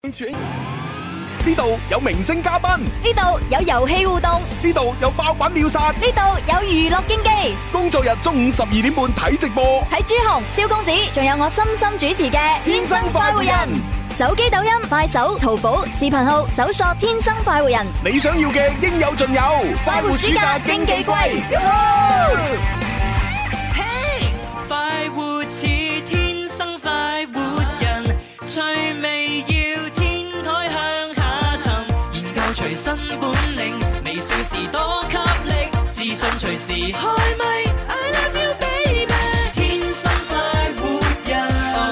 呢度有明星嘉賓， 呢度有遊戲互動， 呢度有爆品秒殺， 呢度有娛樂經紀。 工作日中午12點半睇直播， 睇朱紅、蕭公子，仲有我深深主持嘅《天生快活人》。手機抖音、快手、淘寶、視頻號搜索《天生快活人》， 你想要嘅應有盡有。 快活暑假經紀季， 嘿，快活似天生快活人，趣味要天台向下沉，研究隨身本領，微笑時多給力，自信隨時開咪。I love you baby， 天生快活人。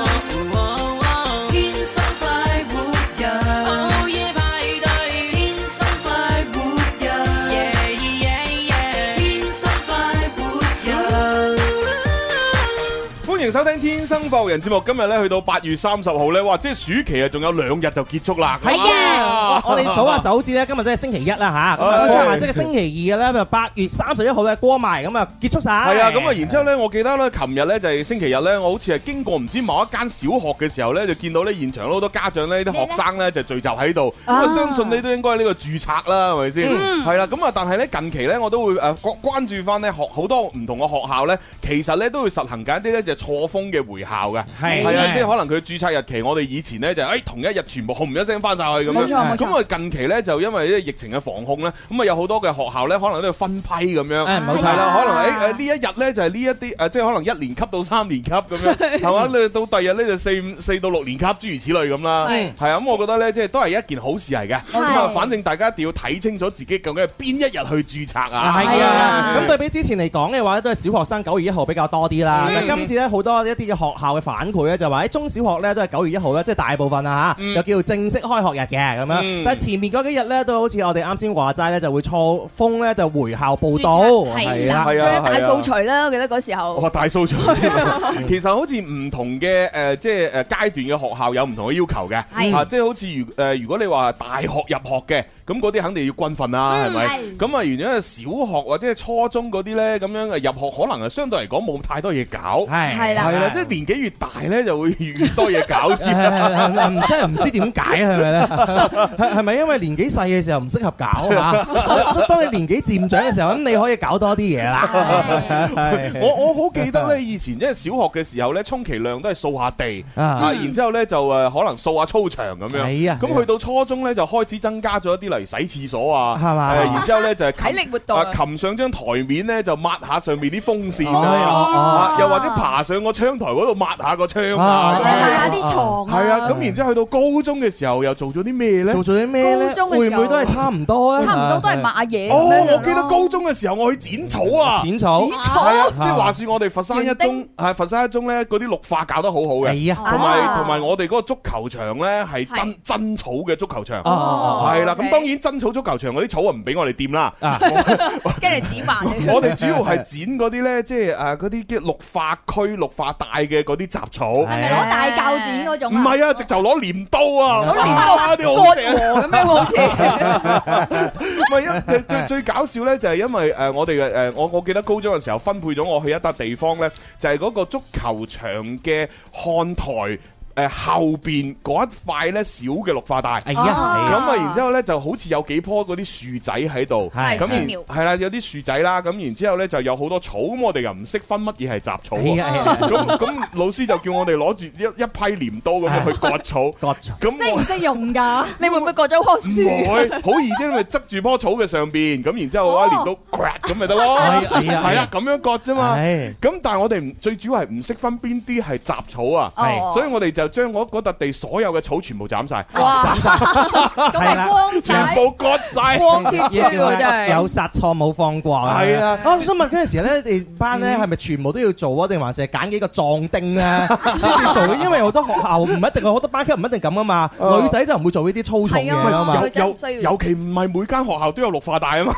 歡迎收聽《天生快活人》節目。今日咧去到8月30號咧，哇！即係暑期啊，仲有2日就結束啦。 係啊，我哋數下手指咧，今日真係星期一啦嚇，咁加埋即係星期二嘅咧，就8月31號咧過埋，咁啊結束晒。係啊，咁啊，然之後咧，我記得咧，琴日咧就係星期日咧，我好似係經過唔知某一間小學嘅時候咧，就見到咧現場好多家長咧，啲學生咧就聚集喺度。咁啊，相信你都應該係呢個註冊啦，係咪先？係啦，咁啊，但係咧近期咧，我都會關注翻咧好多唔同嘅學校咧，其實咧都會實行緊一啲咧就錯峰嘅回校嘅。係啊，即係可能佢註冊日期，我哋以前咧就同一日全部轟一聲翻晒去咁樣。冇錯。咁啊近期咧就因為呢疫情嘅防控咧，咁啊有好多嘅學校咧可能都要分批咁樣。冇錯啦，可能呢一日咧就係呢一啲即係可能1年級到3年級咁樣，係嘛？你到第二日咧就4到6年級諸如此類咁啦。係啊，咁我覺得咧即係都係一件好事嚟嘅。咁啊，反正大家一定要睇清楚自己究竟係邊一日去註冊啊。 係啊，咁對比之前嚟講嘅話咧，都係小學生9月1號比較多啲啦。但係今次咧好多一啲嘅學校嘅反饋咧，就話喺中小學咧都係9月1號咧，即係大部分啊嚇，又叫做正式開學日嘅咁樣。但係前面嗰幾日咧，都好似我哋啱先話齋咧，就會錯峰咧就回校報到。 係啦，仲有大掃除啦，我記得嗰時候。 哇！大掃除，其實好似唔同嘅即係階段嘅學校有唔同嘅要求嘅。係即係好似如果你話大學入學嘅，咁嗰啲肯定要軍訓啦，係咪？咁啊，原因係小學或者係初中嗰啲咧，咁樣入學可能係相對嚟講冇太多嘢搞。係啦，即係年紀越大咧，就會越多嘢搞。 真係唔知點解係咪咧？係咪因為年紀細嘅時候唔適合搞啊？當你年紀漸長嘅時候，咁你可以搞多啲嘢啦。 我好記得咧，以前即係小學嘅時候咧，充其量都係掃下地然之後咧就可能掃下操場咁樣。咁去到初中咧就開始增加咗一啲嚟洗廁所啊，係嘛？然之後咧就係體力活動， 擒上張台面咧就抹下上面啲風扇又或者爬上個窗台嗰度抹下個窗或者抹下啲床。 係啊，咁然之後去到高中嘅時候又做咗啲咩咧？ 做咗啲咩咧？會唔會都係差唔多啊？ 差唔多都係抹嘢。 我記得高中嘅時候我去剪草啊， 剪草係啊，即係話說我哋佛山一中佛山一中咧嗰啲綠化搞得好好嘅，同埋我哋嗰個足球場咧係真草嘅足球場，係啦。咁當然真草足球場嗰啲草啊唔俾我哋掂啦， 驚你剪埋。 我哋主要係剪嗰啲咧，即係嗰啲叫綠化區、綠化帶嘅嗰啲雜草。 係咪攞大鉸剪嗰種？ 唔係啊，直頭攞鐮刀啊！ 攞鐮刀啲好蛇咁樣好似。 唔係最搞笑咧，就係因為我哋嘅我記得高中嘅時候分配咗我去一笪地方咧，就係嗰個足球場嘅看台。後邊嗰一塊咧小嘅綠化帶，咁啊，然之後咧就好似有幾棵嗰啲樹仔喺度，咁係啦，有啲樹仔啦，咁然之後咧就有好多草，咁我哋又唔識分乜嘢係雜草，咁老師就叫我哋攞住一批鐮刀咁樣去割草， 咁識唔識用㗎？ 你會唔會割咗棵樹？ 唔會，好易啫，咪側住棵草嘅上邊，咁然之後攞鐮刀 crack 咁咪得咯，係啊，咁樣割啫嘛，咁但係我哋最主要係唔識分邊啲係雜草啊，所以我哋就將嗰笪地所有嘅草全部斬晒， 斬晒，係啦， 全部割晒， 光脫脫喎真係， 有殺錯冇放過。係啊，我想問嗰陣時咧，你哋班咧係咪全部都要做啊？定還是係揀幾個壯丁咧先至做？因為好多學校唔一定，好多班級唔一定咁啊嘛。女仔就唔會做呢啲粗重嘢啊嘛。 尤其唔係每間學校都有綠化帶啊嘛。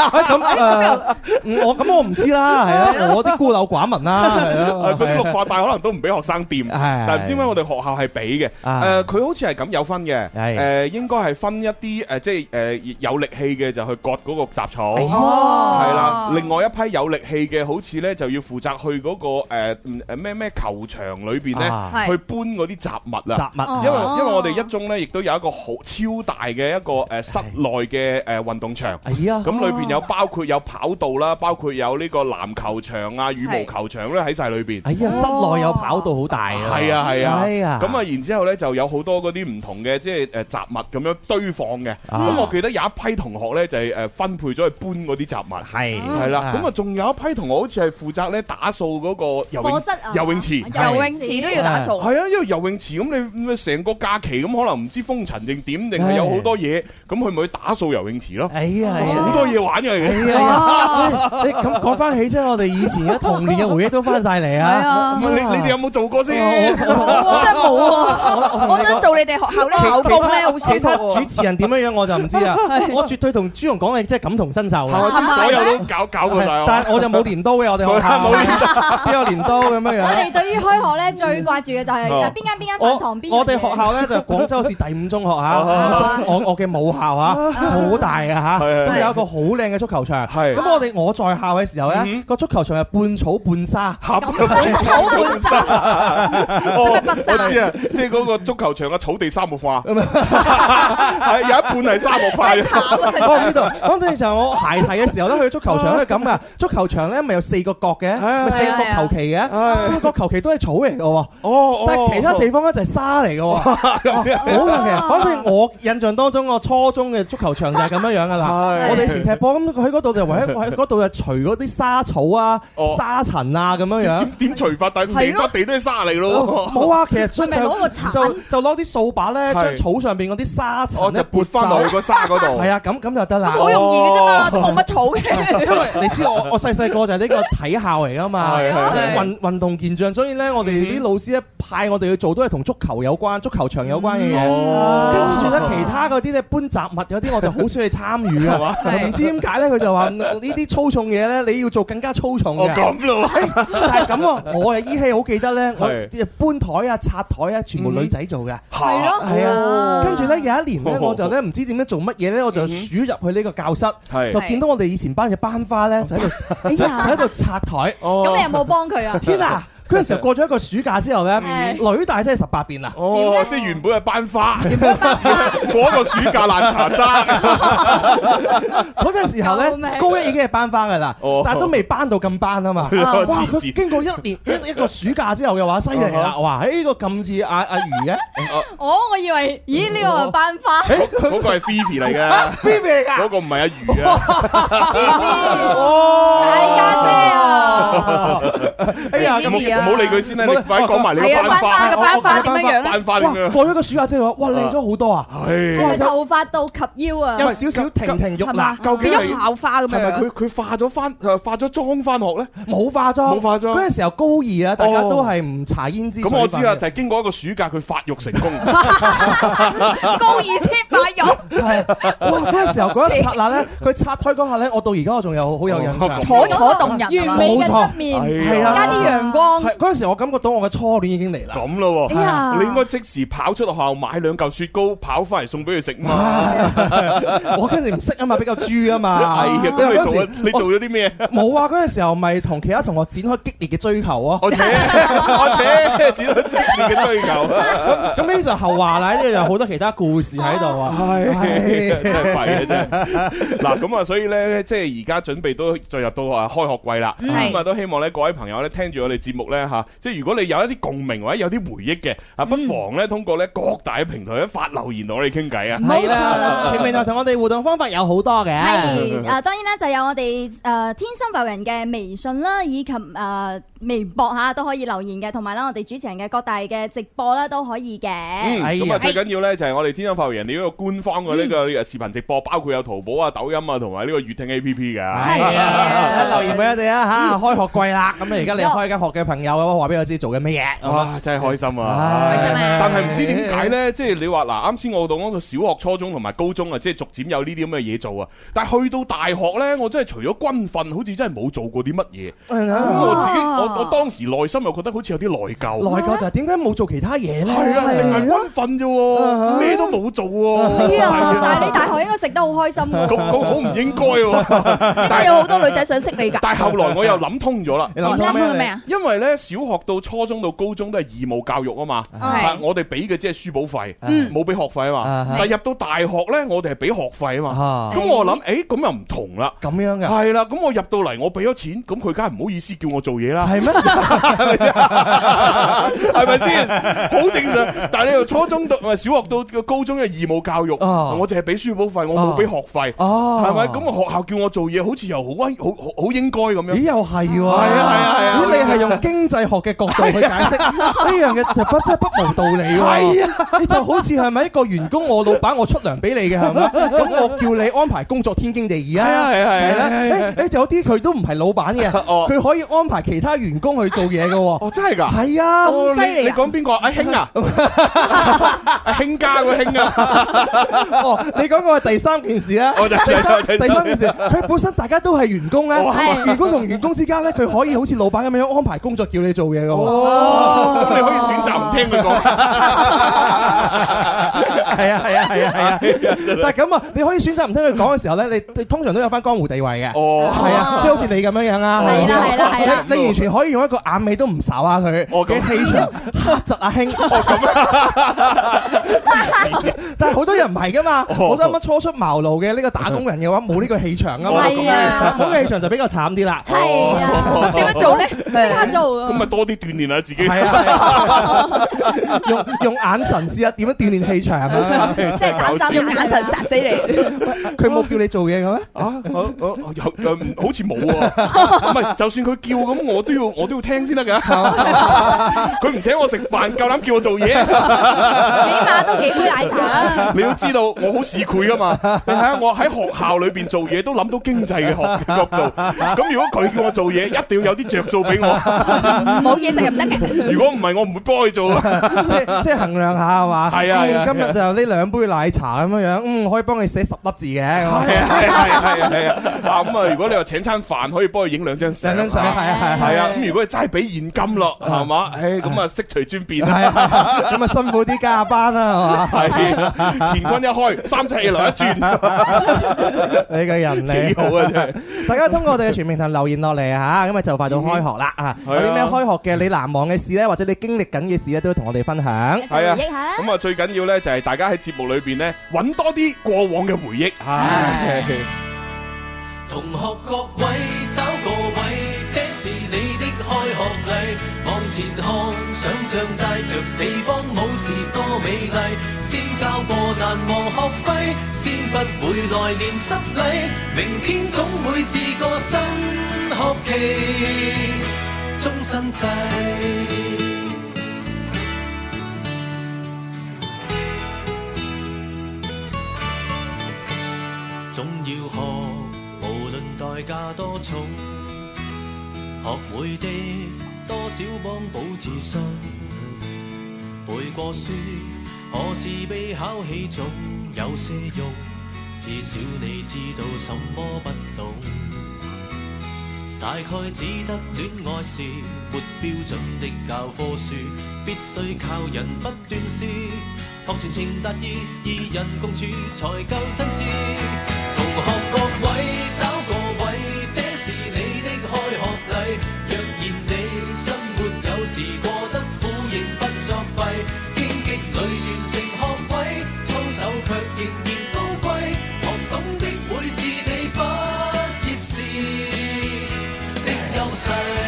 咁我唔知啦，係啊，我啲孤陋寡聞啦，係啊。 嗰啲綠化帶可能都唔俾學生掂，但係唔知點解我哋學學校係俾嘅。佢好似係咁有分嘅。應該係分一啲即係有力氣嘅就去割嗰個雜草，係啦。另外一批有力氣嘅，好似咧就要負責去嗰個咩球場裏邊咧去搬嗰啲雜物啦。雜物，因為我哋一中咧亦都有一個好超大嘅一個室內嘅運動場。咁裏邊有包括有跑道啦，包括有呢個籃球場啊、羽毛球場咧喺晒裏邊。室內有跑道好大啊！係啊，咁啊，然之後咧就有好多嗰啲唔同嘅即係雜物咁樣堆放嘅。咁我記得有一批同學咧就係分配咗去搬嗰啲雜物。係啦，咁啊仲有一批同學好似係負責咧打掃嗰個游泳池。 游泳池都要打掃。 係啊，因為游泳池咁你成個假期咁可能唔知風塵定點定係有好多嘢，咁佢咪去打掃游泳池咯。好多嘢玩嘅。你咁講翻起即係我哋以前嘅童年嘅回憶都翻晒嚟啊！你哋有冇做過先？ 我真係冇喎，我想做你哋學校咧考工咧，好少喎。 主持人點樣我就唔知啊！我絕對同朱紅講嘅即係感同身受啊！ 所有都搞過晒。 但係我就冇鐮刀嘅，我哋學校冇鐮刀，邊有鐮刀咁樣樣？ 我哋對於開學咧最掛住嘅就係邊間飯堂邊。 我哋學校咧就係廣州市第5中學嚇，我嘅母校嚇，好大嘅嚇，咁有一個好靚嘅足球場。咁我在校嘅時候咧，個足球場係半草半沙， 半草半沙。 我知啊，即係嗰個足球場嘅草地沙漠化，係有一半係沙漠化。 我呢度講真就係我孩提嘅時候咧，去足球場都係咁噶。足球場咧咪有4個角嘅，咪4個角球旗嘅，4個球旗都係草嚟嘅喎。但係其他地方咧就係沙嚟嘅喎。好神奇！反正我印象當中，我初中嘅足球場就係咁樣樣噶啦。我哋以前踢波咁，佢喺嗰度就喺嗰度就除嗰啲沙草啊、沙塵啊咁樣樣。 點除法？但係成笪地都係沙嚟咯。 冇啊，其實就攞啲掃把咧，將草上邊嗰啲沙塵就撥翻落去個沙嗰度。 係啊，咁就得啦。 好容易嘅啫嘛，都冇乜草嘅。 因為你知我細個就係呢個體校嚟噶嘛，運動健將，所以咧我哋啲老師咧派我哋去做都係同足球有關、足球場有關嘅嘢。跟住咧其他嗰啲咧搬雜物有啲我哋好少去參與啊。唔知點解咧，佢就話呢啲粗重嘢咧你要做更加粗重嘅。 咁咯， 但係咁喎，我係依稀好記得咧，我搬台啊、拆台啊，全部女仔做嘅。 係咯， 係啊。跟住咧有一年咧，我就咧唔知點樣做乜嘢咧，我就鼠入去呢個教室，就見到我哋以前班嘅班花咧，就喺度拆台。 咁你有冇幫佢啊？ 天啊！嗰陣時候過咗一個暑假之後咧，女大真係18變啦。 即係原本係班花，嗰個暑假爛茶渣。 嗰陣時候咧，高1已經係班花㗎啦，但係都未班到咁班啊嘛。佢經過一個暑假之後嘅話，犀利啦！哇，呢個咁似阿魚嘅。 我以為，咦呢個係班花？ 嗰個係 Phoebe 嚟嘅 ，Phoebe 嚟㗎。 嗰個唔係阿魚啊。 大家姐啊！ 哎呀， 唔好理佢先啦，你快講埋你個班花。 個班花點樣樣？ 班花點樣？ 過咗個暑假之後，哇靚咗好多啊！ 係咪頭髮到及腰啊？ 有少少亭亭玉立， 究竟係校花咁樣？ 係咪佢化咗妝翻學咧？ 冇化妝，嗰陣時候高2啊，大家都係唔搽胭脂。 咁我知啦，就係經過一個暑假，佢發育成功。 高2先發育。 係哇！嗰陣時候嗰一剎那咧，佢拆台嗰下咧，我到而家我仲有好有印象。 楚楚動人， 完美嘅側面，加啲陽光。 嗰陣時我感覺到我嘅初戀已經嚟啦。 咁咯喎，你應該即時跑出學校買2嚿雪糕，跑翻嚟送俾佢食嘛。 我嗰陣時唔識啊嘛，比較豬啊嘛。 係啊，咁你做咗啲咩？ 冇啊！嗰陣時候咪同其他同學展開激烈嘅追求啊！ 我扯展開激烈嘅追求。 咁呢就後話啦，呢度有好多其他故事喺度啊。 係真係弊啊！真係。嗱咁啊，所以咧，即係而家準備都進入到開學季啦。咁啊，都希望咧各位朋友咧聽住我哋節目咧嚇，即係如果你有一啲共鳴或者有啲回憶嘅，不妨咧通過咧各大嘅平台咧發留言同我哋傾偈啊！ 冇錯啦， 全平台同我哋互動方法有好多嘅。 係當然啦，就有我哋天生快活人嘅微信啦，以及微博嚇都可以留言嘅，同埋啦我哋主持人嘅各大嘅直播啦都可以嘅。 咁啊最緊要咧就係我哋天生快活人呢個官方嘅呢個視頻直播，包括有淘寶啊、抖音啊同埋呢個粵聽 A P P 嘅。 係啊，留言俾我哋啊嚇！開學季啦，咁啊而家你開緊學嘅朋友話俾我知做緊乜嘢。哇！真係開心啊！ 開心啊！ 但係唔知點解咧，即係你話嗱，啱先我講到小學、初中同埋高中啊，即係逐漸有呢啲咁嘅嘢做啊。但係去到大學咧，我真係除咗軍訓，好似真係冇做過啲乜嘢。我我當時內心又覺得好似有啲內疚。 內疚就係點解冇做其他嘢咧？ 係啊，淨係軍訓啫喎，咩都冇做喎。 係啊，但係你大學應該食得好開心㗎。 咁好唔應該喎。 應該有好多女仔想識你㗎。 但係後來我又諗通咗啦。 你諗通咩啊？ 因為咧，小學到初中到高中都係義務教育啊嘛，我哋俾嘅即係書簿費，冇俾學費啊嘛。但係入到大學咧，我哋係俾學費啊嘛。咁我諗，咁又唔同啦。 咁樣嘅係啦，咁我入到嚟，我俾咗錢，咁佢梗係唔好意思叫我做嘢啦。 係咩？ 係咪先？好正常。但係你由初中到小學到高中嘅義務教育，我淨係俾書簿費，我冇俾學費，係咪？咁個學校叫我做嘢，好似又好應該咁樣。 咦，又係喎。 係啊。 你係用經濟學嘅角度去解釋呢樣嘢，真係不無道理喎。係啊，你就好似係咪一個員工，我老闆我出糧俾你嘅係咪？咁我叫你安排工作天經地義啊。係啦。就有啲佢都唔係老闆嘅，佢可以安排其他員工去做嘢嘅喎。 哦，真係㗎？ 係啊， 咁犀利。 你講邊個？阿興啊？阿興家個興啊？ 哦，你講個係第三件事啦。第三件事，佢本身大家都係員工咧，員工同員工之間咧，佢可以好似老闆咁樣安排工作，叫你做嘢嘅。 哦，咁你可以選擇唔聽佢講。 係啊。但係咁啊，你可以選擇唔聽佢講嘅時候咧，你通常都有翻江湖地位嘅。哦，係啊，即係好似你咁樣樣啊。 係啦。 你完全可以用一個眼尾都唔睄下佢嘅氣場黑窒阿興。但係好多人唔係噶嘛，好多啱啱初出茅廬嘅呢個打工人嘅話，冇呢個氣場啊嘛。 係啊， 冇個氣場就比較慘啲啦。 係啊， 點樣做咧？ 即刻做啊！ 咁咪多啲鍛鍊下自己。 係啊，用眼神試下點樣鍛鍊氣場啊！ 即係膽膽用眼神殺死你。 佢冇叫你做嘢嘅咩？ 好似冇喎。唔係，就算佢叫咁，我都要聽先得㗎。佢唔請我食飯，夠膽叫我做嘢， 起碼都幾杯奶茶啦。 你要知道，我好市儈㗎嘛。你睇下，我喺學校裏邊做嘢都諗到經濟嘅角度。咁如果佢叫我做嘢，一定要有啲着數俾我。 冇嘢食又唔得嘅。 如果唔係，我唔會幫佢做。 即係衡量下係嘛？ 係啊。 今日就呢兩杯奶茶咁樣樣，可以幫你寫10粒字嘅。係啊。咁啊，如果你話請餐飯，可以幫佢影2張相。 係啊。 咁如果你齋俾現金咯，係嘛？咁啊，悉隨尊便啦。 咁啊，辛苦啲加班啦，係嘛？ 係乾坤一開，3尺來一轉。 你個人嚟幾好啊！真係。 大家通過我哋嘅全平台留言落嚟嚇，咁啊就快到開學啦啊！有啲咩開學嘅你難忘嘅事咧，或者你經歷緊嘅事咧，都同我哋分享。 係啊，咁啊最緊要咧就係大家喺節目裏邊咧揾多啲過往嘅回憶。 同學各位找個位，這是你的開學禮。往前看，想像帶着四方武士多美麗。先交過難忘學費，先不會來年失禮。明天總會是個新學期，終身制。總要學，無論代價多重，學會的多少幫補自信。背過書，可是被考起總有些用，至少你知道什麼不懂。大概只得戀愛是沒標準的教科書，必須靠人不斷試，學全情達意，二人共處才夠真摯。同學各位找個位，這是你的開學禮。若然你生活有時過得苦，仍不作弊，荊棘裏完成學位，操守卻仍然高貴。學懂的會是你畢業時的優勢。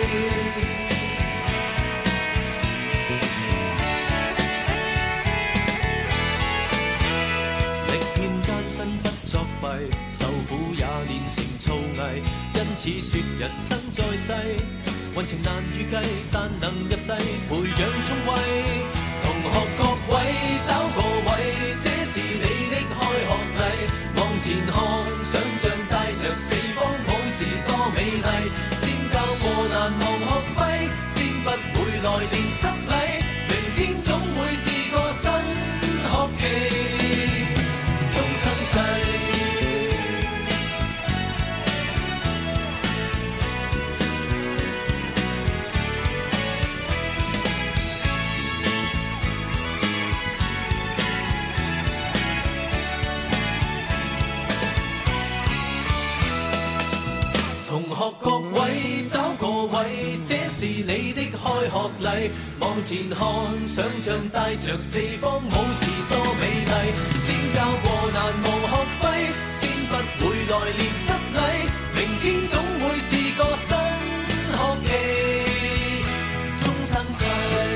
受苦也練成造詣，因此說人生在世，運程難預計，但能入世培養聰慧。同學各位找個位，這是你的開學禮。往前看，想像帶着四方武士多美麗。先交過難忘學費，先不會來年失禮。明天總會是個新學期，終身制。 畏，這是你的開學禮。往前看，想像帶着四方武士多美麗。先交過難忘學費，先不會來年失禮。明天總會是個新學期，終生制。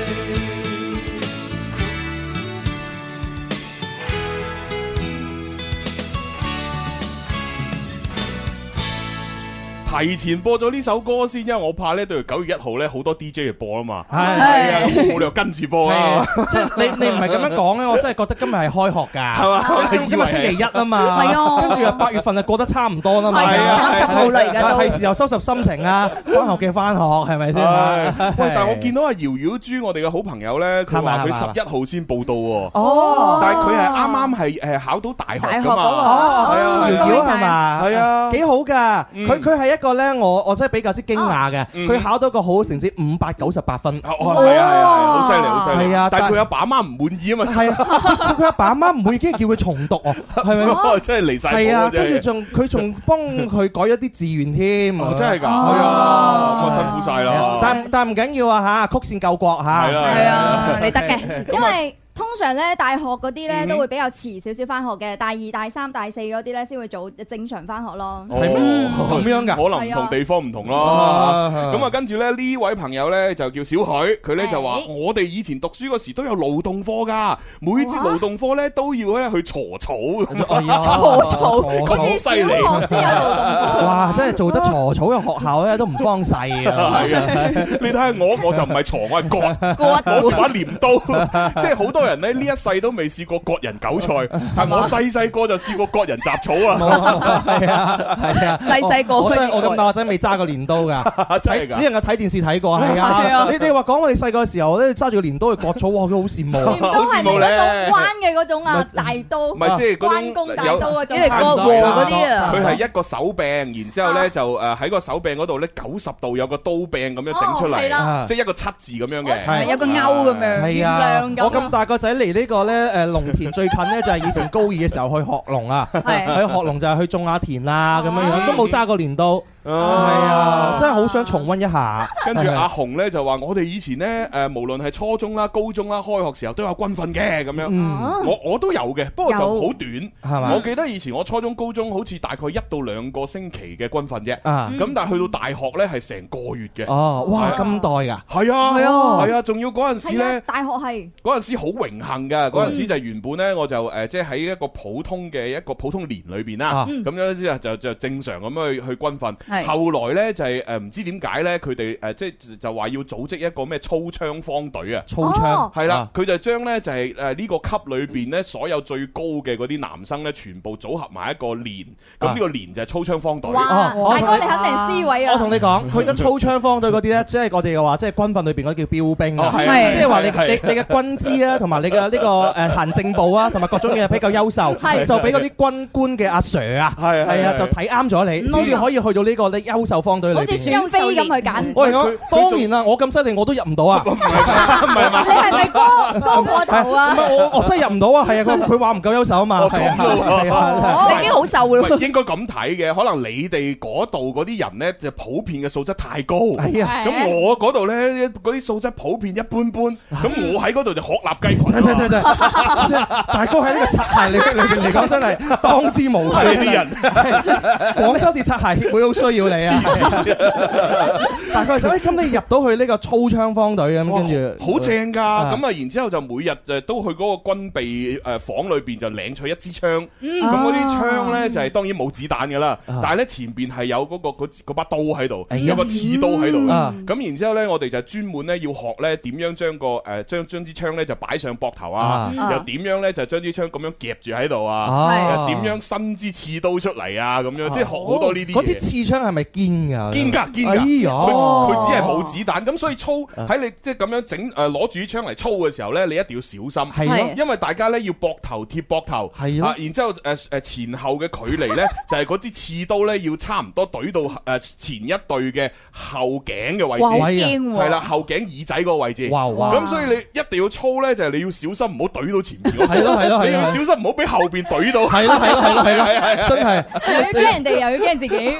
提前播咗呢首歌先，因為我怕咧到9月1號咧好多 DJ 嚟播啊嘛。係啊，咁冇理由跟住播啊。 即係你唔係咁樣講咧，我真係覺得今日係開學㗎，係嘛？今日星期一啊嘛， 係啊， 跟住8月份就過得差唔多啦嘛。 係啊，30號嚟㗎都。 係時候收拾心情啊，翻學嘅翻學係咪先？ 喂，但係我見到阿瑤瑤豬，我哋嘅好朋友咧，佢話佢11號先報到喎。 哦， 但係佢係啱啱係考到大學㗎嘛。 哦， 係啊， 瑤瑤係嘛？係啊，幾好㗎。佢係一個咧，我真係比較之驚訝嘅。佢考到個好成績598分。 係啊，好犀利，好犀利。 係啊， 但係佢阿爸阿媽唔滿意啊嘛。 係啊，佢阿爸阿媽唔滿意，跟住叫佢重讀喎，係咪？ 真係離曬譜。 係啊，跟住佢仲幫佢改咗啲志願添。 真係㗎。係啊，咁辛苦晒啦。 但唔緊要啊嚇，曲線救國嚇。 係啊，你得嘅， 因為通常咧大學嗰啲咧都會比較遲少少翻學嘅，大2、大3、大4嗰啲咧先會早正常翻學咯。 係咩？咁樣㗎？ 可能唔同地方唔同咯。咁啊，跟住咧呢位朋友咧就叫小許，佢咧就話：我哋以前讀書嗰時都有勞動課㗎，每節勞動課咧都要咧去鋤草。 鋤草， 好似小學先有勞動課。 哇！真係做得鋤草嘅學校咧都唔方細啊！ 係啊，你睇下我就唔係鋤，我係割，我把鐮刀，即係好多人咧呢一世都未試過割人韭菜，但我細個就試過割人雜草啊！係啊， 細個我咁大個仔未揸過鐮刀㗎， 真係㗎， 只能夠睇電視睇過。係啊，你話講我哋細個嘅時候咧揸住個鐮刀去割草，哇！佢好羨慕。 鐮刀係咪嗰種關嘅嗰種啊？大刀， 唔係即係關公大刀嗰種， 即係割禾嗰啲啊。 佢係一個手柄，然之後咧就喺個手柄嗰度咧90度有個刀柄咁樣整出嚟，即係一個7字咁樣嘅， 有個勾咁樣。 係啊，我咁大個仔嚟呢個咧農田最近咧就係以前高2嘅時候去學農啊，去學農就係去種下田啊咁樣樣，都冇揸過鐮刀。係啊，真係好想重溫一下。 跟住阿紅咧就話：我哋以前咧無論係初中啦、高中啦，開學時候都有軍訓嘅咁樣。我都有嘅，不過就好短，係嘛？我記得以前我初中、高中好似大概1到2個星期嘅軍訓啫。咁但係去到大學咧係成個月嘅。哦， 哇，咁代㗎？ 係啊，係啊，仲要嗰陣時咧， 大學係嗰陣時好榮幸㗎。嗰陣時就原本咧我就即係喺一個普通年裏邊啦，咁樣就正常咁去軍訓。後來咧就係唔知點解咧，佢哋即係就話要組織一個咩操槍方隊啊！ 操槍係啦，佢就將咧就係呢個級裏邊咧所有最高嘅嗰啲男生咧，全部組合埋一個連，咁呢個連就係操槍方隊。 哇！大哥你肯定係 C 位啊！ 我同你講，去緊操槍方隊嗰啲咧，即係我哋嘅話，即係軍訓裏邊嗰啲叫標兵啊，即係話你嘅軍資啊，同埋你嘅呢個行政部啊，同埋各種嘢比較優秀，就俾嗰啲軍官嘅阿 Sir 啊，係啊，就睇啱咗你，先至可以去到呢個咧優秀方隊裏邊。好似選妃咁去揀。我講當然啦，我咁犀利我都入唔到啊！唔係嘛？ 你係咪高過頭啊？ 唔係我真係入唔到啊！係啊，佢話唔夠優秀啊嘛。係啊， 你已經好瘦啦。 應該咁睇嘅，可能你哋嗰度嗰啲人咧就普遍嘅素質太高。係啊，咁我嗰度咧嗰啲素質普遍一般般。咁我喺嗰度就鶴立雞群。真大哥喺呢個擦鞋嚟講真係當之無愧。呢啲人，廣州市擦鞋協會好需要你啊！大概就咁你入到去呢個操槍方隊咁，跟住好正㗎。咁啊，然之後就每日就都去嗰個軍備房裏邊就領取一支槍。咁嗰啲槍咧就係當然冇子彈㗎啦，但係咧前邊係有嗰把刀喺度，有個刺刀喺度。咁然之後咧，我哋就專門咧要學咧點樣將支槍咧就擺上膊頭啊，又點樣咧就將支槍咁樣夾住喺度啊，又點樣伸支刺刀出嚟啊，咁樣即係學好多呢啲嘢。嗰支刺槍係咪堅㗎？堅㗎。佢只係冇子彈，咁所以操喺你即係咁樣整攞住啲槍嚟操嘅時候咧，你一定要小心。係，因為大家咧要膊頭貼膊頭，係啊，然之後前後嘅距離咧就係嗰支刺刀咧要差唔多懟到前一隊嘅後頸嘅位置，係啦，後頸耳仔嗰個位置。咁所以你一定要操咧，就係你要小心唔好懟到前面。係咯，你要小心唔好俾後邊懟到。係咯，真係又要驚人哋又要驚自己。係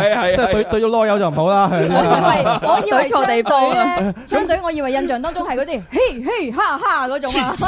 即係對咗囉柚就唔好啦。 我以為錯地方啊！ 槍隊我以為印象當中係嗰啲嘿嘿哈哈嗰種啊。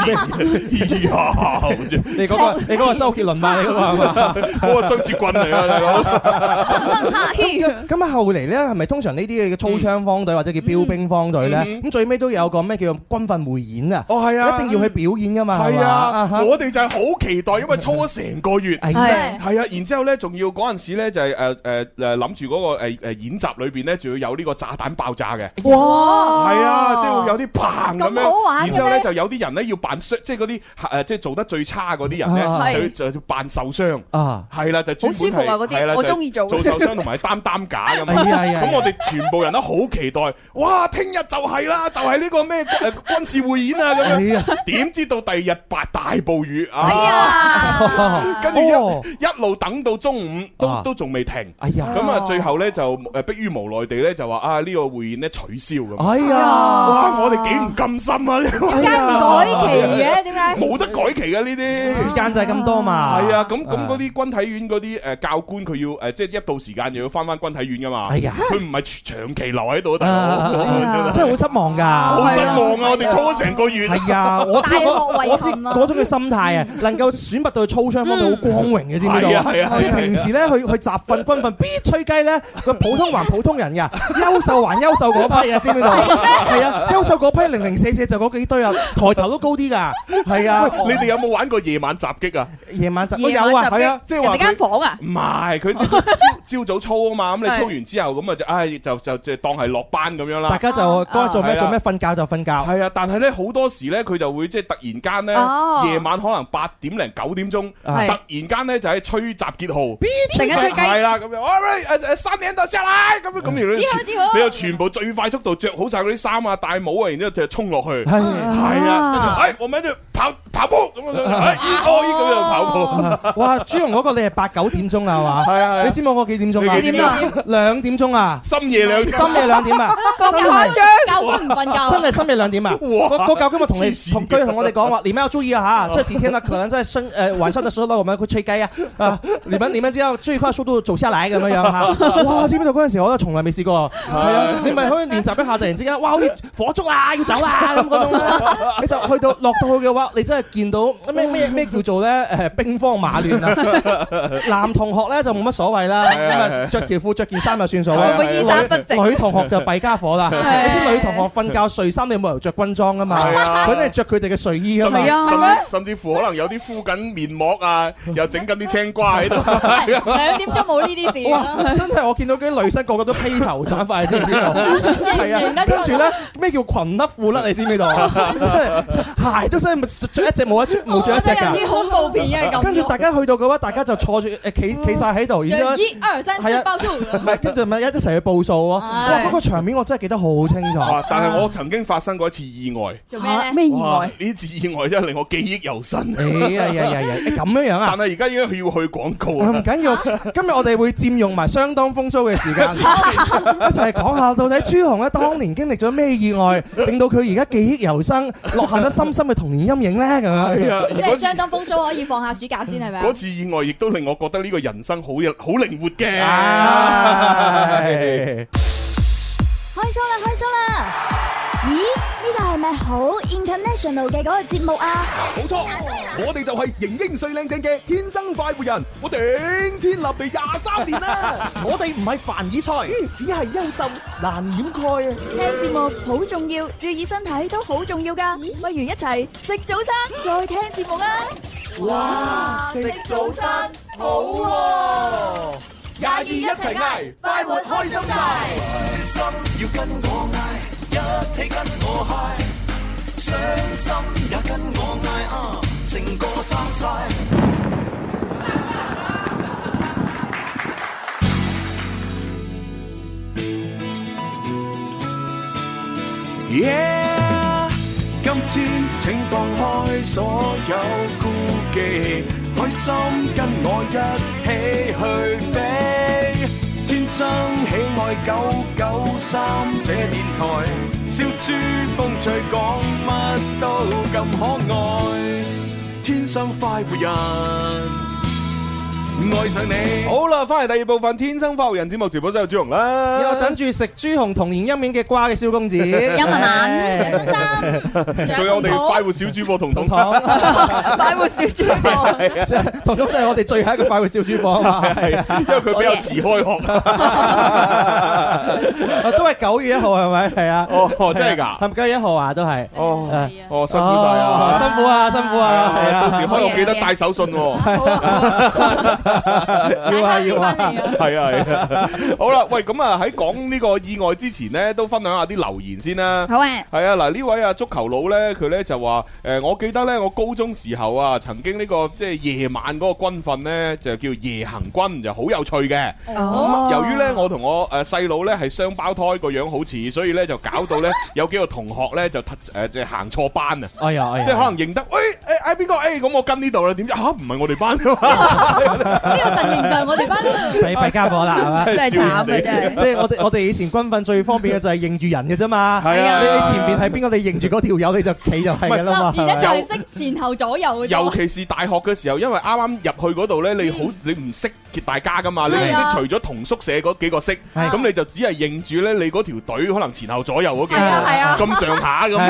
你嗰個周杰倫嘛？你嗰個係嘛？ 嗰個雙截棍嚟啊，大佬！ 咁啊，後嚟咧係咪通常呢啲嘅操槍方隊或者叫標兵方隊咧？咁最尾都有個咩叫軍訓匯演啊？哦，係啊，一定要去表演噶嘛。係啊，我哋就係好期待，因為操咗成個月。係啊，然之後咧，仲要嗰陣時咧就係諗住嗰個演習裏邊咧，仲要有呢個炸彈爆炸嘅。哇！係啊，即係會有啲砰咁樣。好玩。然之後咧就有啲人咧要扮傷，即係嗰啲即係做得最差嗰啲人咧，就扮受傷。啊，係啦，就專門好舒服啊嗰啲，我中意做。 做受傷同埋擔架咁啊。咁我哋全部人都好期待，哇！聽日就係啦，就係呢個咩軍事匯演啊咁樣。點知到第二日大暴雨啊！跟住一路等到中午都仲未停。哎呀！咁啊，最後咧就迫於無奈地咧就話啊呢個匯演咧取消咁。哎呀！哇！我哋幾唔甘心啊！點解唔改期嘅？點解？ 冇得改期嘅呢啲時間就係咁多嘛。係啊， 咁嗰啲軍體院嗰啲教官佢要即係一到時間又要翻軍體院噶嘛。係啊，佢唔係長期留喺度，真係好失望㗎。 好失望啊！我哋操咗成個月。係啊，我知嗰種嘅心態啊，能夠選拔到操槍方面好光榮嘅，知唔知道？係啊，即係平時咧去集訓軍訓必吹雞咧，個普通還普通人㗎，優秀還優秀嗰批啊，知唔知道？係啊，優秀嗰批零零舍舍就嗰幾堆啊，抬頭都高啲㗎。係啊， 你哋有冇玩過夜晚襲擊啊？ 夜晚襲擊有啊，係啊， 即係話間房啊？ 唔係，佢朝早操啊嘛，咁你操完之後咁啊就當係落班咁樣啦。 大家就該做咩做咩，瞓覺就瞓覺。 係啊，但係咧好多時咧佢就會即係突然間咧夜晚可能8點零9點鐘，突然間咧就喺吹集結號， 突然間吹雞係啦咁樣，喂3點就上嚟咁你又全部最快速度着好晒嗰啲衫啊、戴帽啊，然之後就衝落去。係啊，跟住我咪就跑步咁樣，咁樣跑步。 哇！朱紅嗰個你係8、9點鐘啊嘛？係啊，你知唔知我幾點鐘啊？ 幾點啊 ？2點鐘啊！ 深夜2 點啊！ 咁誇張， 教官唔瞓覺， 真係深夜2點啊！個教官咪同我哋講話，你們要注意啊嚇！這幾天呢，可能在晚上的時候呢，我們會吹雞啊！你們只要最快速度走下來咁樣嚇！哇！知唔知道嗰陣時我都從來未試過。係啊，你咪可以練習一下，突然之間，哇！好似火燭啊，要走啊咁嗰種咧，你就去到落到去嘅話，你真係見到咩叫做咧兵荒馬亂啊！男同學咧就冇乜所謂啦，咁啊着條褲着件衫就算數啦。 會唔會衣衫不整？ 女同學就弊家伙啦！你知女同學瞓覺睡衫，你冇理由着軍裝噶嘛？佢哋着佢哋嘅睡衣噶嘛？ 甚至乎可能有啲敷緊面膜啊，又整緊啲青瓜喺度。 2點鐘冇呢啲事。 哇！真係我見到啲女生個個都披頭散髮，知唔知道？係啊，跟住咧咩叫裙甩褲甩？你知唔知道？鞋都真係着一隻冇着一隻㗎。 啲恐怖片嘅咁。 跟住大家去到嘅話，大家就坐住企曬喺度，然之後 1、2、3、4報數。 唔係，跟住咪一齊去報數咯。哇！嗰個場面我真係記得好清楚。 但係我曾經發生過一次意外。 做咩咧？ 咩意外？ 呢次意外真係令我記憶猶新。 咁樣啊！ 但係而家已經要去廣告啊！ 唔緊要，今日我哋會佔用埋相當豐足嘅時間，一齊講下到底朱紅咧當年經歷咗咩意外，令到佢而家記憶猶新，落下咗深深嘅童年陰影咧咁樣。 即係相當豐收，可以放下暑假先係咪？ 嗰次意外亦都令我覺得呢個人生好靈活嘅。 開 show 啦！咦？呢個係咪好 international 嘅嗰個節目啊？ 冇錯，我哋就係型英帥靚正嘅天生快活人，我頂天立地23年啦！ 我哋唔係凡爾賽，只係優秀難掩蓋啊！ 聽節目好重要，注意身體都好重要㗎，不如一齊食早餐再聽節目啊！ 哇！食早餐好喎！22一齊嗌，快活開心晒！開心要跟我嗌，一起跟我嗨，傷心也跟我嗌，成個生晒。Yeah， 今天請放開所有顧忌，開心跟我一起去飛，天生喜愛993這電台，笑豬風趣講乜都咁可愛，天生快活人。 愛上你。 好啦，翻嚟第二部分《天生快活人》節目直播室有朱紅啦， 有等住食朱紅童年陰影嘅瓜嘅蕭公子，有文文、張心心， 仲有我哋快活小主播彤彤， 快活小主播， 彤彤就係我哋最後一個快活小主播啊嘛， 係因為佢比較遲開學， 都係9月1號係咪？係啊， 哦，真係㗎， 係咪9月1號啊？都係， 哦，辛苦晒啊， 辛苦啊，辛苦啊，係啊， 到時開學記得帶手信喎， 要啊， 係啊，好啦，喂，咁啊喺講呢個意外之前呢，都分享下啲留言先啦。 好啊， 係啊，嗱呢位啊足球佬咧，佢咧就話我記得咧，我高中時候啊，曾經呢個即係夜晚嗰個軍訓咧，就叫夜行軍，就好有趣嘅。咁由於咧我同我細佬咧係雙胞胎，個樣好似，所以咧就搞到咧有幾個同學咧就即係行錯班啊！ 哎呀， 即係可能認得，喂嗌邊個？咁我跟呢度啦，點知唔係我哋班㗎嘛？ 呢個陣營就係我哋班啦， 弊家伙啦，係嘛？ 真係慘啊！真係， 即係我哋以前軍訓最方便嘅就係認住人嘅啫嘛。 係啊， 你前邊係邊個，你認住嗰條友你就企就係㗎啦嘛。 而且就係識前後左右嘅。 尤其是大學嘅時候，因為啱啱入去嗰度咧，你唔識大家㗎嘛，你唔識除咗同宿舍嗰幾個識，咁你就只係認住咧你嗰條隊可能前後左右嗰幾個咁上下咁。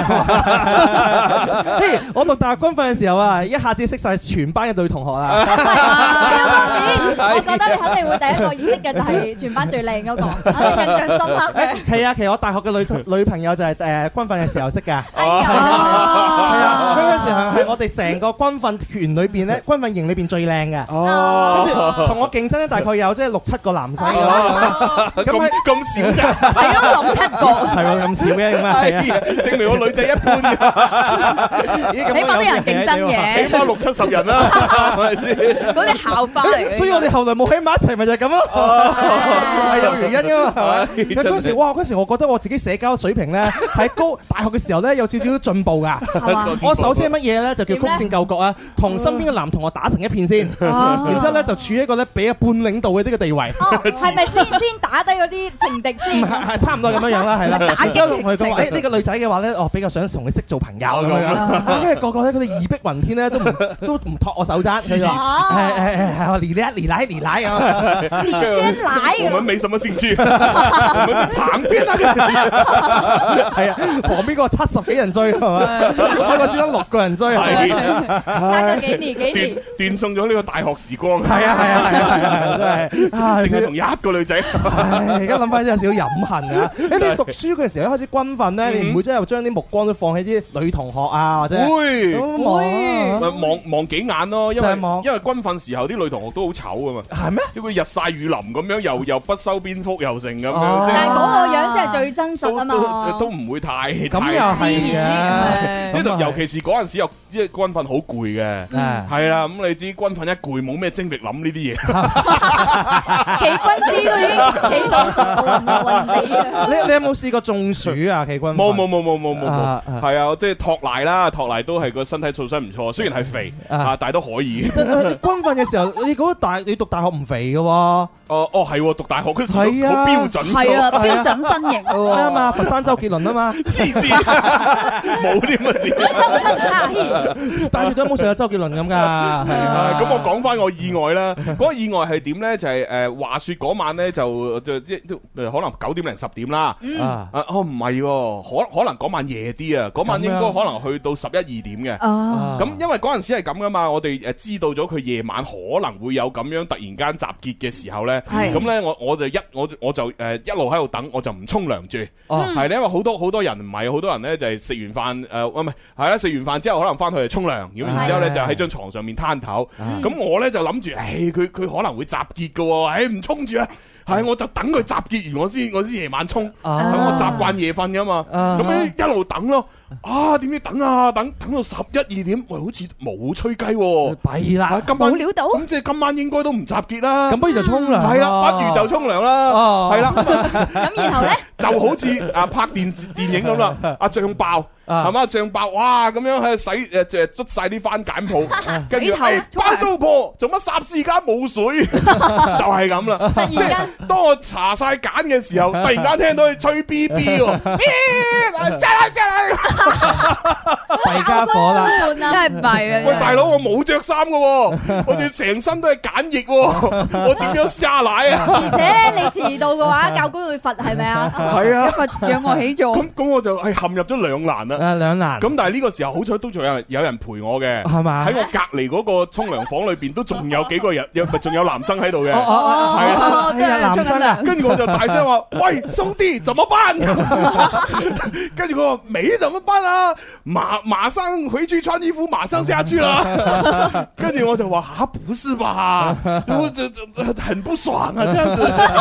我讀大學軍訓嘅時候啊，一下子識晒全班嘅女同學啦。 我覺得你肯定會第一個識嘅就係全班最靚嗰個，肯定印象深刻嘅。 係啊，其實我大學嘅女朋友就係軍訓嘅時候識㗎。 哎呀， 係啊，嗰陣時係我哋成個軍訓團裏邊咧，軍訓營裏邊最靚嘅。跟住同我競爭咧，大概有即係6-7個男仔咁少咋？ 係咯，6-7個， 係喎，咁少嘅咁啊，係啊， 證明我女仔一般嘅， 起碼都有人競爭嘅， 起碼60-70人啦，係咪先？ 嗰啲校花嚟嘅。 所以我哋後來冇喺埋一齊，咪就係咁咯，係有原因㗎嘛，係咪？嗰時哇，嗰時我覺得我自己社交水平咧喺大學嘅時候咧有少少進步㗎。我首先係乜嘢咧？就叫曲線救國啊，同身邊嘅男同學打成一片先，然之後咧就處於一個咧比半領導嘅呢個地位。 係咪先打低嗰啲情敵先？ 係差唔多咁樣樣啦，係啦。 打之後同佢講話，呢個女仔嘅話咧，比較想同佢識做朋友咁樣。跟住個個咧，佢哋義薄雲天咧，都唔托我手踭。佢話你來你來你來啊！ 你先來。 我們沒什麼興趣，我們旁邊那個係啊，旁邊個70幾人追係咪？我個先得6個人追係。 隔咗幾年， 斷送咗呢個大學時光。 係啊，真係淨係同一個女仔。 而家諗翻真係有少少飲恨啊！你讀書嘅時候一開始軍訓咧，你唔會真係將啲目光都放喺啲女同學啊，或者會會望幾眼咯，因為軍訓時候啲女同學都好醜噶嘛。 係咩？ 即係佢日曬雨淋咁樣，又不修邊幅又成咁樣。 但係嗰個樣先係最真實啊嘛。 都唔會太咁又係嘅。 呢度尤其是嗰陣時又即係軍訓好攰嘅，係啦。咁你知軍訓一攰，冇咩精力諗呢啲嘢。 企軍姿都已經企到熟運地啊！ 你有冇試過中暑啊？企軍冇，係啊，即係托賴啦，托賴都係個身體素質唔錯，雖然係肥但係都可以。 軍訓嘅時候，你讀大學唔肥嘅喎。 係讀大學嗰時好標準， 係啊，標準身形嘅喎。 啱嘛，佛山周杰倫啊嘛， 黐線，冇啲咁嘅事。 但係都冇成日周杰倫咁㗎。 咁我講翻我意外啦，嗰個意外係點咧？就係話説嗰晚咧就可能9點零10點啦。唔係喎，可能嗰晚夜啲啊，嗰晚應該可能去到11、12點嘅。咁因為嗰陣時係咁噶嘛，我哋知道咗佢夜晚可能會有咁樣突然間集結嘅時候咧，咁咧我就一路喺度等，我就唔沖涼住。係咧，因為好多人唔係好多人咧，就係食完飯係啦，食完飯之後可能翻去就沖涼，咁然之後咧就喺張床上面攤頭。咁我咧就諗住，佢可能會集結嘅喎，唔沖住啊！係，我就等佢集結完，我先夜晚沖，等我習慣夜瞓噶嘛。咁樣一路等咯，點知等到11、12點，喂，好似冇吹雞喎， 弊啦， 冇料到。 咁即係今晚應該都唔集結啦。 咁不如就沖涼。 係啦，不如就沖涼啦。係啦。 咁然後咧， 就好似拍電影咁啦，阿醬爆。 係嘛醬爆，哇咁樣喺洗捽晒啲番梘泡，跟住番糟婆做乜霎時間冇水，就係咁啦。 突然間， 當我搽晒梘嘅時候，突然間聽到佢吹 B B 喎， 弊家伙啦！ 真係唔係啊！ 喂，大佬，我冇着衫噶，我哋成身都係梘液，我點樣蝦奶啊？ 而且你遲到嘅話，教官會罰係咪啊？ 係啊， 罰仰臥起坐。 咁我就係陷入咗兩難啦。 兩難。 咁但係呢個時候好彩都仲有人陪我嘅， 係嘛？ 喺我隔離嗰個沖涼房裏邊都仲有幾個人，仲有男生喺度嘅。 係啊，男生啊。 跟住我就大聲話：喂，兄弟，怎麼辦？跟住佢話：沒怎麼辦啊？馬上回去穿衣服，馬上下去啦。跟住我就話：嚇，不是吧？我這很不爽啊，這樣子。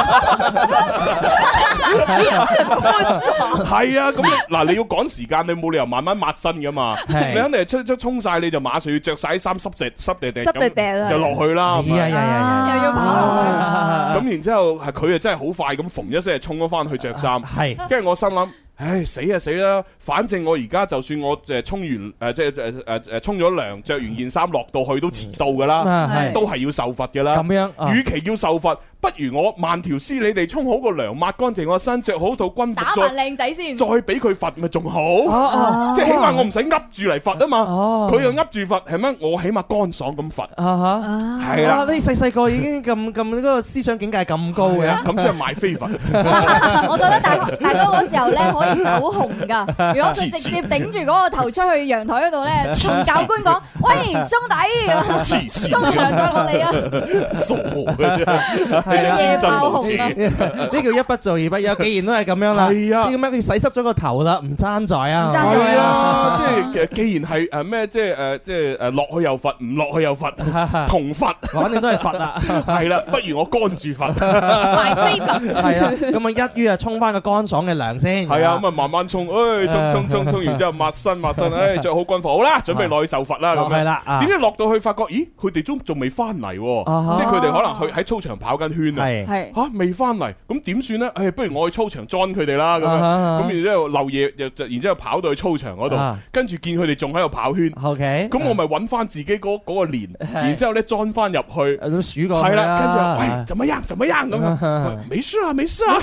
係啊，咁嗱，你要趕時間，你冇理由慢慢抹身噶嘛。你肯定係出沖晒，你就馬上要着晒啲衫濕地地咁就落去啦。 又要跑落去。 咁然之後係佢啊，真係好快咁縫一聲沖咗翻去着衫。 係， 跟住我心諗。唉，死啊死啦！反正我而家就算我沖完沖咗涼，着完件衫落到去都遲到噶啦，都係要受罰噶啦。咁樣，與其要受罰，不如我慢條斯理地沖好個涼，抹乾淨個身，着好套軍服， 打扮靚仔先， 再俾佢罰咪仲好。即係起碼我唔使噏住嚟罰啊嘛。佢又噏住罰，係咩？我起碼乾爽咁罰。係啦， 你細個已經咁嗰個思想境界咁高嘅， 咁先係賣飛罰。 我覺得大哥嗰時候咧可以走紅噶。如果佢直接頂住嗰個頭出去陽台嗰度咧，同教官講：喂，兄弟，沖涼再落嚟啊！ 傻嘅啫。 夜爆紅啊！ 呢叫一不做二不休。既然都係咁樣啦，係啊，啲咁樣佢洗濕咗個頭啦，唔爭在啊， 係啊，即係既然係咩，即係落去又罰，唔落去又罰，同罰， 反正都係罰啦。 係啦，不如我乾住罰， 賣飛罰。 係啊，咁啊一於啊沖翻個乾爽嘅涼先。 係啊，咁啊慢慢沖，沖完之後抹身，着好軍服，好啦，準備落去受罰啦。咁係啦， 點知落到去發覺，咦，佢哋仲未翻嚟，即係佢哋可能去喺操場跑緊圈啊。係嚇未翻嚟，咁點算咧？不如我去操場 join 佢哋啦。咁然之後漏夜，然之後跑到去操場嗰度，跟住見佢哋仲喺度跑圈。 OK，咁我咪揾翻自己嗰個鏈，然之後咧 join 翻入去， 都數過。 係啦，跟住話喂，怎麼樣咁樣？沒事啊，沒事啊。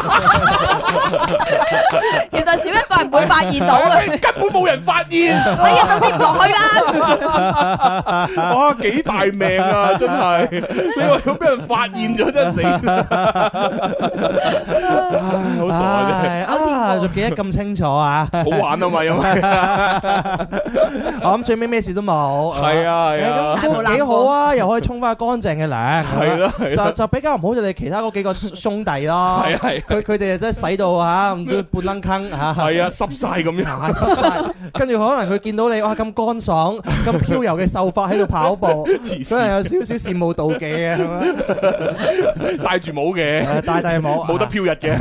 原來少一個人會發現到嘅， 根本冇人發現。 你一度跌唔落去啦！ 哇，幾大命啊！真係，你話如果俾人發現咗，真係死。好傻啊！仲記得咁清楚啊！ 好玩啊嘛，因為我諗最尾咩事都冇。 係啊係啊， 咁幾好啊！又可以沖翻乾淨嘅涼。 係咯係咯， 就比較唔好就你其他嗰幾個兄弟咯。係係，佢哋真係洗到嚇咁都半撚坑嚇。係啊，濕晒咁樣，濕晒。跟住可能佢見到你哇咁乾爽、咁飄柔嘅秀髮喺度跑步，真係有少少羨慕妒忌嘅，係咪？ 戴住帽嘅， 戴帽， 冇得飄逸嘅，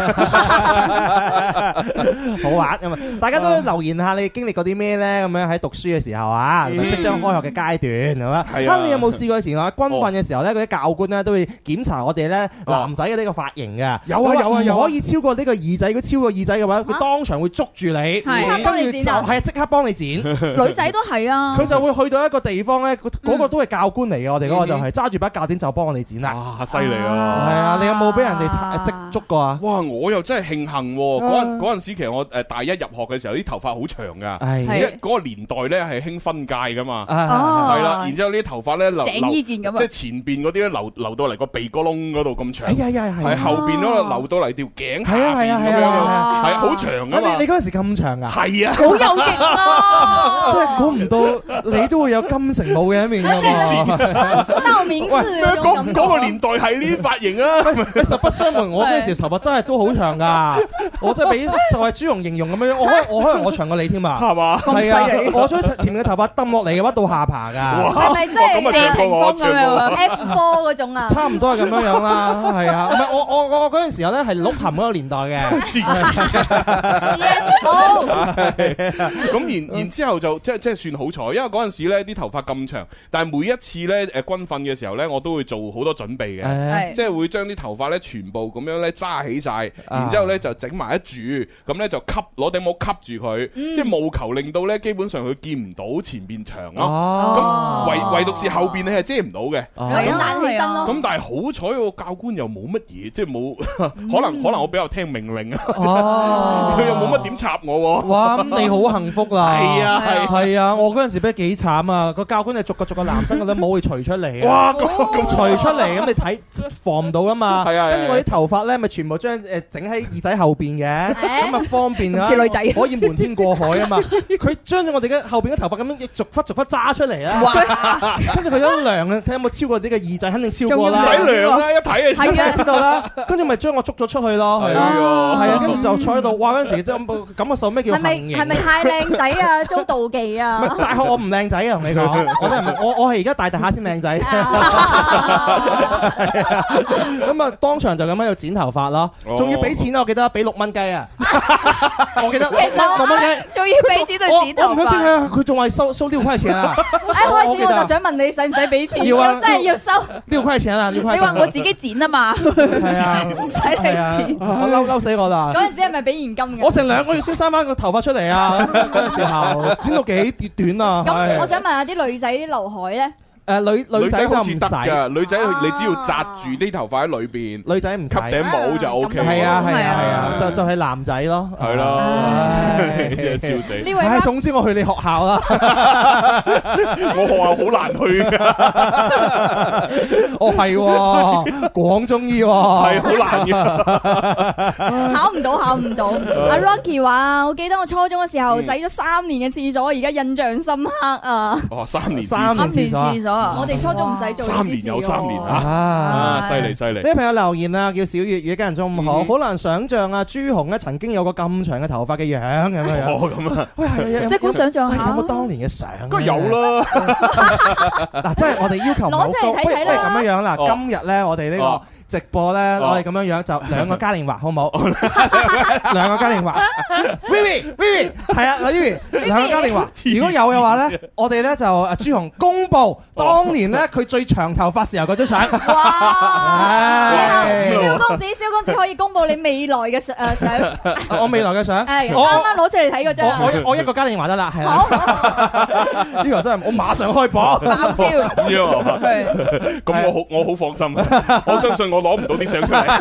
好玩咁啊！大家都留言下你經歷過啲咩咧？咁樣喺讀書嘅時候啊，即將開學嘅階段係嘛？啊，你有冇試過以前話軍訓嘅時候咧，嗰啲教官咧都會檢查我哋咧男仔嘅呢個髮型嘅？ 有啊， 唔可以超過呢個耳仔，如果超過耳仔嘅話，佢當場會捉住你，跟住就係即刻幫你剪。 女仔都係啊， 佢就會去到一個地方咧，嗰個都係教官嚟嘅，我哋嗰個就係揸住把鉸剪就幫我哋剪啦。 哇，犀利啊！ 係啊，你有冇俾人哋即捉過啊？ 哇，我又真係慶幸嗰陣時，其實我大一入學嘅時候啲頭髮好長㗎，嗰個年代咧係興分界㗎嘛，係啦，然之後呢啲頭髮咧留即係前邊嗰啲咧留到嚟個鼻哥窿嗰度咁長，係後邊嗰度留到嚟條頸下邊咁樣，係好長㗎嘛。 你嗰陣時咁長㗎？係啊， 好有型啊！ 真係估唔到你都會有金城武嘅一面㗎嘛。 道明寺嗰個年代係呢啲髮型啊！ 實不相瞞，我嗰陣時頭髮真係都好長㗎，我真係俾就係朱紅形容咁樣，我可能我長過你添啊，係嘛？係啊，我將前面嘅頭髮抌落嚟嘅話到下巴㗎， 係咪即係謝霆鋒咁樣啊 ？F4 嗰種啊？ 差唔多係咁樣啦，係啊，唔係我嗰陣時候咧係鹿晗嗰個年代嘅， 咁然之後就即係算好彩，因為嗰陣時咧啲頭髮咁長，但係每一次咧軍訓嘅時候咧，我都會做好多準備嘅，即係會將啲頭髮咧全部咁樣咧揸起晒，然之後咧就整埋一柱，咁咧就攞頂帽吸住佢，即係務求令到咧基本上佢見唔到前邊長咯。咁唯獨是後邊你係遮唔到嘅， 咁站起身咯。 咁但係好彩個教官又冇乜嘢，即係冇可能我比較聽命令啊，佢又冇乜點插我喎。 哇！咁你好幸福啦。 係啊， 我嗰陣時俾幾慘啊！個教官係逐個男生嗰啲帽會除出嚟啊！ 哇！咁除出嚟咁你睇防唔到噶嘛？ 係啊。 跟住我啲頭髮咧咪全部將整喺耳仔後邊嘅，咁啊方便啊， 似女仔可以瞞天過海啊嘛！佢將咗我哋嘅後邊嘅頭髮咁樣逐忽揸出嚟啊！跟住佢一量啊，睇有冇超過啲嘅耳仔，肯定超過啦。 唔使量啦，一睇就知道啦。跟住咪將我捉咗出去咯。係啊，跟住就坐喺度，哇！嗰陣時真係感覺受咩叫行刑？ 係咪太靚仔啊？遭妒忌啊！ 大學我唔靚仔啊，同你講，我係而家大下先靚仔。咁啊，當場就咁喺度剪頭髮咯，仲要俾錢啊！我記得俾6蚊雞啊！我記得6蚊雞， 仲要俾錢去剪頭髮。 我唔敢知啊！佢仲係收6塊錢啊！ 開始我就想問你使唔使俾錢？ 要啊， 真係要收 6塊錢啊！6塊錢。 你話我自己剪啊嘛？ 係啊， 唔使你剪。 我嬲死我啦！ 嗰陣時係咪俾現金嘅？ 我成2個月先生翻個頭髮出嚟啊！嗰陣時候剪到幾短啊！ 咁我想問下啲女仔啲劉海咧？ 女仔就唔使㗎，女仔你只要紮住啲頭髮喺裏邊， 女仔唔使吸頂帽就 O K。 係啊，就係男仔咯， 係咯，真係笑死。 呢位， 總之我去你學校啦， 我學校好難去㗎。 哦係，廣中醫係好難嘅， 考唔到。阿 Rocky 話：我記得我初中嘅時候洗咗3年嘅廁所，而家印象深刻啊！ 哦，3年廁所。 我哋初中唔使做 3年有3年啊！犀利！呢位朋友留言啊，叫小月月，家人中午好，好難想像啊，朱紅咧曾經有個咁長嘅頭髮嘅樣咁樣。 哦，咁啊！ 喂，係即管想像下， 有冇當年嘅相？ 梗係有啦。 嗱，即係我哋要求唔好高， 攞出嚟睇睇啦。 不如咁樣啦，今日咧我哋呢個直播咧，我哋咁樣樣就2個嘉年華，好唔好？2個嘉年華。Vivi，係啊，Vivi，2個嘉年華。如果有嘅話咧，我哋咧就朱紅公佈當年咧佢最長頭髮時候嗰張相。 哇！蕭公子可以公佈你未來嘅相。 我未來嘅相。 係啱啱攞出嚟睇嗰張。 我1個嘉年華得啦，係啦。 好。 呢個真係我馬上開播。 爆招。 咁樣啊？咁我好放心。我相信我攞唔到啲相出嚟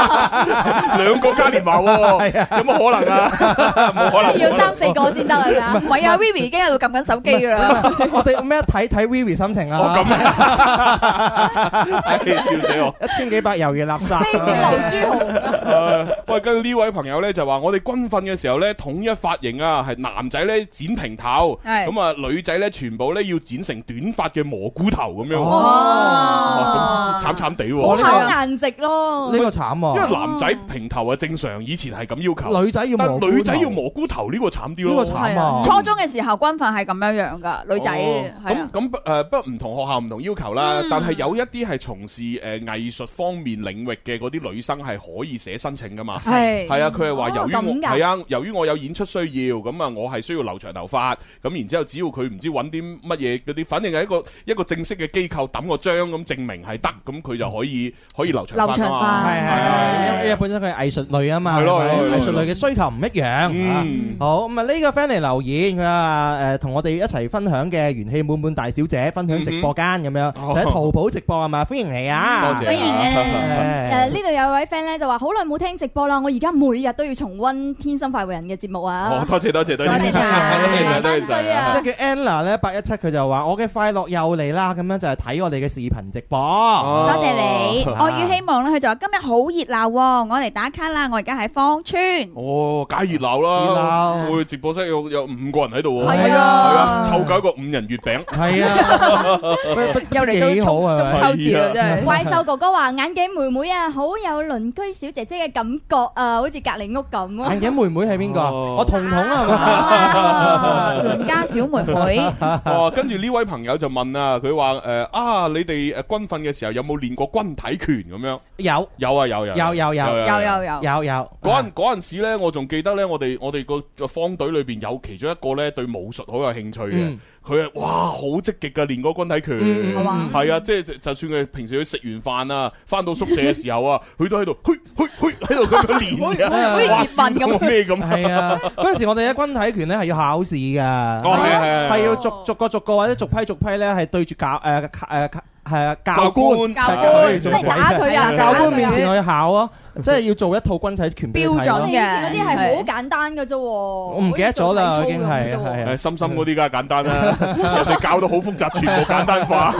，2個嘉年華喎，有乜可能啊？冇可能， 要3、4個先得係咪啊？ 唔係啊 ，Vivi 已經喺度撳緊手機㗎啦。 我哋咩睇 Vivi 心情啊？ 咁啊！笑死我 ！1000幾百猶豫垃圾。 飛轉劉朱紅。 喂，跟住呢位朋友咧就話：我哋軍訓嘅時候咧，統一髮型啊，係男仔咧剪平頭，咁啊女仔咧全部咧要剪成短髮嘅蘑菇頭咁樣。哇！咁慘地喎。 考顏值咯， 呢個慘啊！ 因為男仔平頭啊正常，以前係咁要求。 女仔要蘑菇頭， 女仔要蘑菇頭呢個慘啲咯。 呢個慘啊！ 初中嘅時候軍訓係咁樣噶，女仔咁不過唔同學校唔同要求啦。但係有一啲係從事藝術方面領域嘅嗰啲女生係可以寫申請噶嘛。係啊，佢係話由於我有演出需要，咁啊我係需要留長頭髮。咁然之後只要佢唔知揾啲乜嘢嗰啲，反正係一個正式嘅機構抌個章咁證明係得，咁佢就可以留長髮啊嘛。 係，因為本身佢係藝術類啊嘛，係咯，藝術類嘅需求唔一樣。好，咁啊呢個 friend 嚟留言，佢話同我哋一齊分享嘅元氣滿滿大小姐分享直播間咁樣，就喺淘寶直播係嘛，歡迎你啊！ 多謝。 歡迎啊！呢度有位 friend 咧就話好耐冇聽直播啦，我而家每日都要重溫《天生快活人》嘅節目啊！ 多謝。 多謝晒， 呢個叫 Anna 咧817，佢就話我嘅快樂又嚟啦，咁樣就係睇我哋嘅視頻直播。 多謝你，我與希望咧，佢就話今日好熱鬧，我嚟打卡啦，我而家喺芳村。 哦，梗係熱鬧啦！我直播室有5個人喺度喎。 係啊， 湊夠一個5人月餅。 係啊， 又嚟到中秋節啦，真係。 怪獸哥哥話眼鏡妹妹啊，好有鄰居小姐姐嘅感覺啊，好似隔離屋咁啊。 眼鏡妹妹係邊個？我彤彤啊， 鄰家小妹妹。 跟住呢位朋友就問啊，佢話你哋軍訓嘅時候有冇冇練過軍體拳咁樣？ 有啊有。 嗰陣時咧，我仲記得咧，我哋個方隊裏邊有其中一個咧對武術好有興趣嘅。佢啊，哇，好積極噶練嗰軍體拳，係啊，即係就算佢平時去食完飯啊，翻到宿舍嘅時候啊，佢都喺度，喺度咁樣練嘅， 好似葉問咁咩咁。 係啊，嗰陣時我哋嘅軍體拳咧係要考試㗎，係要逐個或者逐批咧係對住教官， 即係打佢啊！ 教官面前我要考啊，即係要做一套軍體拳標準嘅。 以前嗰啲係好簡單嘅啫，我唔記得咗啦，已經係。 深深嗰啲梗係簡單啦，人哋教到好複雜，全部簡單化。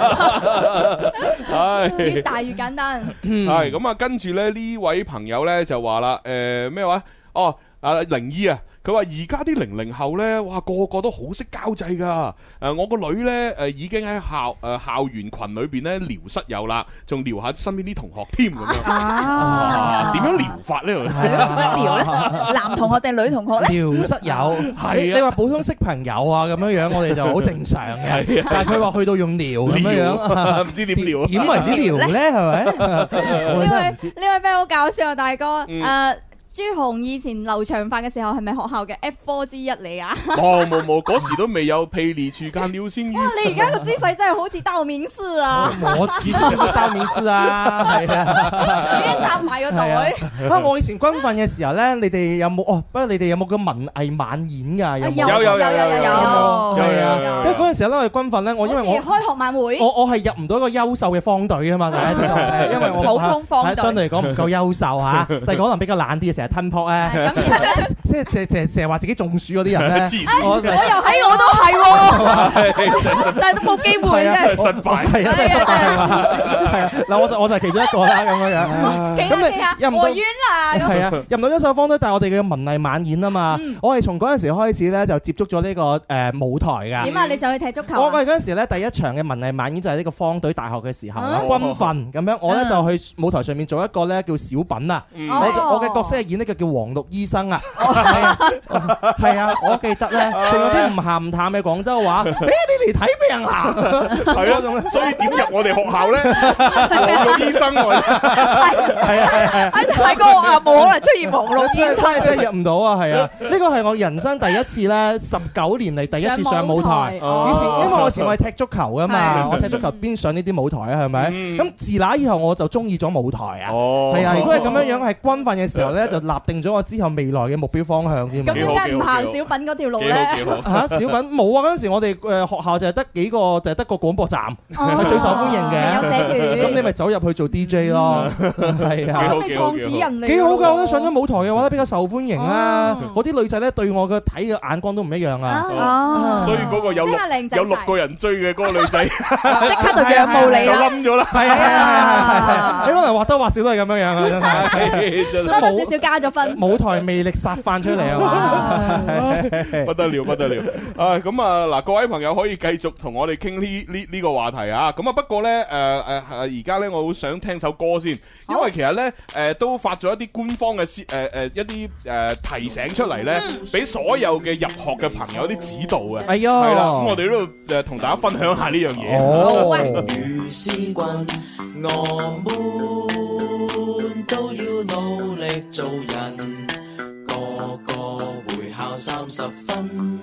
越大越簡單。 係咁啊，跟住咧呢位朋友咧就話啦，咩話？哦，靈醫啊！佢話而家啲00後咧，哇個個都好識交際噶。我個女咧已經喺校園群裏邊咧撩室友啦，仲撩下身邊啲同學添咁樣。點樣撩法咧？ 乜撩咧？男同學定女同學咧？ 撩室友係你話普通識朋友啊咁樣，我哋就好正常嘅。但係佢話去到用撩咁樣，唔知點撩？ 點為之撩咧？係咪？ 呢位 friend 好搞笑啊，大哥朱紅以前留長髮嘅時候係咪學校嘅 F4 之一嚟啊？ 冇，嗰時都未有霹靂處間撩先。 哇！你而家個姿勢真係好似道明寺啊！ 我始終都係道明寺啊，係啊， 已經插埋個袋。 我以前軍訓嘅時候咧，你哋有冇不過你哋有冇個文藝晚演㗎？ 有。因為嗰陣時咧，我哋軍訓咧，因為我開學晚會， 我係入唔到一個優秀嘅方隊啊嘛，大家知道，因為我普通方隊相對嚟講唔夠優秀嚇，但係可能比較懶啲嘅，成日吞撲咧，即係成日話自己中暑嗰啲人咧， 我又我都係喎，但係都冇機會啫， 失敗係啊，真係失敗係嘛，係啊，嗱我就係其中一個啦咁樣。 咁你入唔到院啦， 係啊，入唔到優秀方隊，但係我哋嘅文藝晚演啊嘛，我係從嗰陣時開始咧就接觸咗呢個舞台㗎。點啊？你上去踢足球？ 我係嗰陣時咧第一場嘅文藝晚演就係呢個方隊大學嘅時候軍訓咁樣，我咧就去舞台上面做一個咧叫小品啊，我嘅角色係演呢個叫黃綠醫生啊，係啊，我記得咧，仲有啲唔鹹唔淡嘅廣州話，你嚟睇病啊， 係啊，所以點入我哋學校咧？黃綠醫生喎，係啊， 喺大個學校冇可能出現黃綠醫生， 真係入唔到啊，係啊，呢個係我人生第一次咧，19年嚟第一次上舞台。以前因為我以前我係踢足球噶嘛，我踢足球邊上呢啲舞台啊，係咪？咁自那以後我就中意咗舞台啊，係啊，如果係咁樣係軍訓嘅時候咧，就立定咗我之後未來嘅目標方向添。 咁點解唔行小品嗰條路咧？ 嚇，小品冇啊！嗰陣時我哋學校就係得幾個，就係得個廣播站係最受歡迎嘅。 有社團， 咁你咪走入去做 DJ 咯，係啊。 咁你創始人嚟， 幾好㗎！我覺得上咗舞台嘅話咧比較受歡迎啦。嗰啲女仔咧對我嘅睇嘅眼光都唔一樣啊。 所以嗰個有6個人追嘅嗰個女仔，即刻就仰慕你就冧咗啦。係啊，你可能或多或少都係咁樣樣啊，真係。 多少少加咗分。 舞台魅力殺翻出嚟啊嘛！ 不得了，不得了。咁啊嗱，各位朋友可以繼續同我哋傾呢個話題啊。咁啊不過咧而家咧我好想聽首歌先，因為其實咧都發咗一啲官方嘅一啲提醒出嚟咧，俾所有嘅入學嘅朋友啲指導嘅。 哎呀， 係啦，咁我哋都同大家分享下呢樣嘢。 如是君，我們都要努力做人，個個會考30分。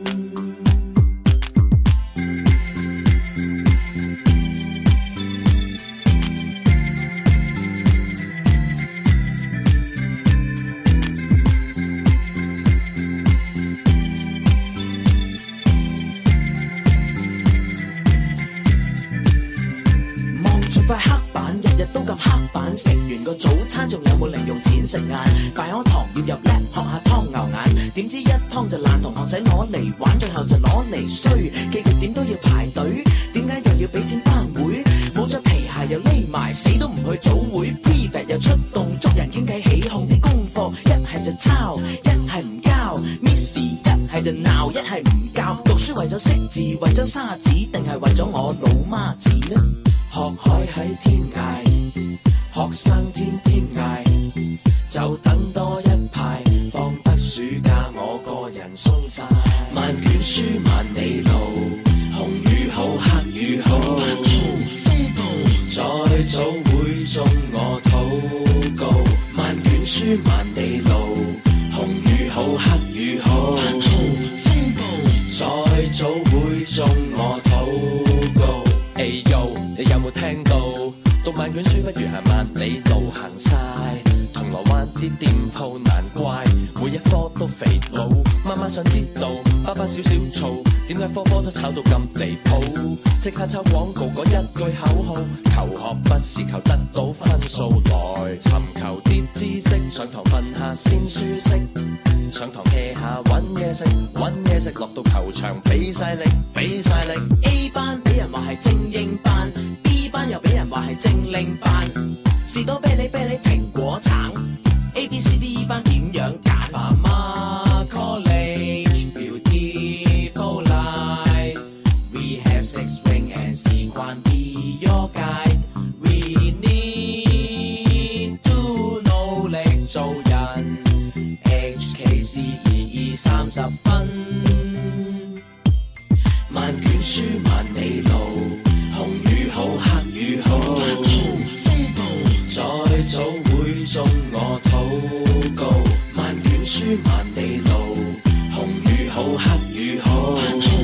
塊黑板日日都咁黑板，食完個早餐仲有冇零用錢食晏？拜我堂要入叻，學下湯牛眼，點知一湯就爛，同學仔攞嚟玩，最後就攞嚟衰。記佢點都要排隊，點解又要俾錢班會？冇着皮鞋又匿埋，死都唔去早會。Prefect 又出動，捉人傾偈起哄啲功課，一係就抄，一係唔交。Miss 一係就鬧，一係唔教。讀書為咗識字，為咗沙子，定係為咗我老媽子呢？學海喺天涯，學生天天捱，就等多一排，放得暑假我個人鬆晒。萬卷書萬里路，紅與好黑與好，再早會中我禱告，萬卷書萬里路，紅與好黑與好，再早會中我禱告。Hey yo， 你有冇聽到？讀萬卷書不如行萬里路，行晒銅鑼灣啲店鋪，難怪每一科都肥佬。媽媽想知道，爸爸少少嘈，點解科科都炒到咁離譜？即刻抄廣告嗰一句口號，求學不是求得到分數，來尋求啲知識，上堂瞓下先舒適，上堂 hea 下揾嘢食，揾嘢食落到球場俾晒力，俾晒力。A 班俾人話係精英班，B 班又俾人話係精靈班，士多啤梨、蘋果橙 ，A B C D E 班點樣揀？Farmer College Beautiful Life We have 6 ring and 時關 be your guide We need to 努力做人 HKCEE 30分萬卷書萬里路紅與好黑與好再早會中我禱告萬卷書萬里路紅與好黑與好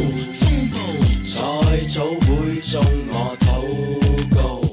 再早會中我禱告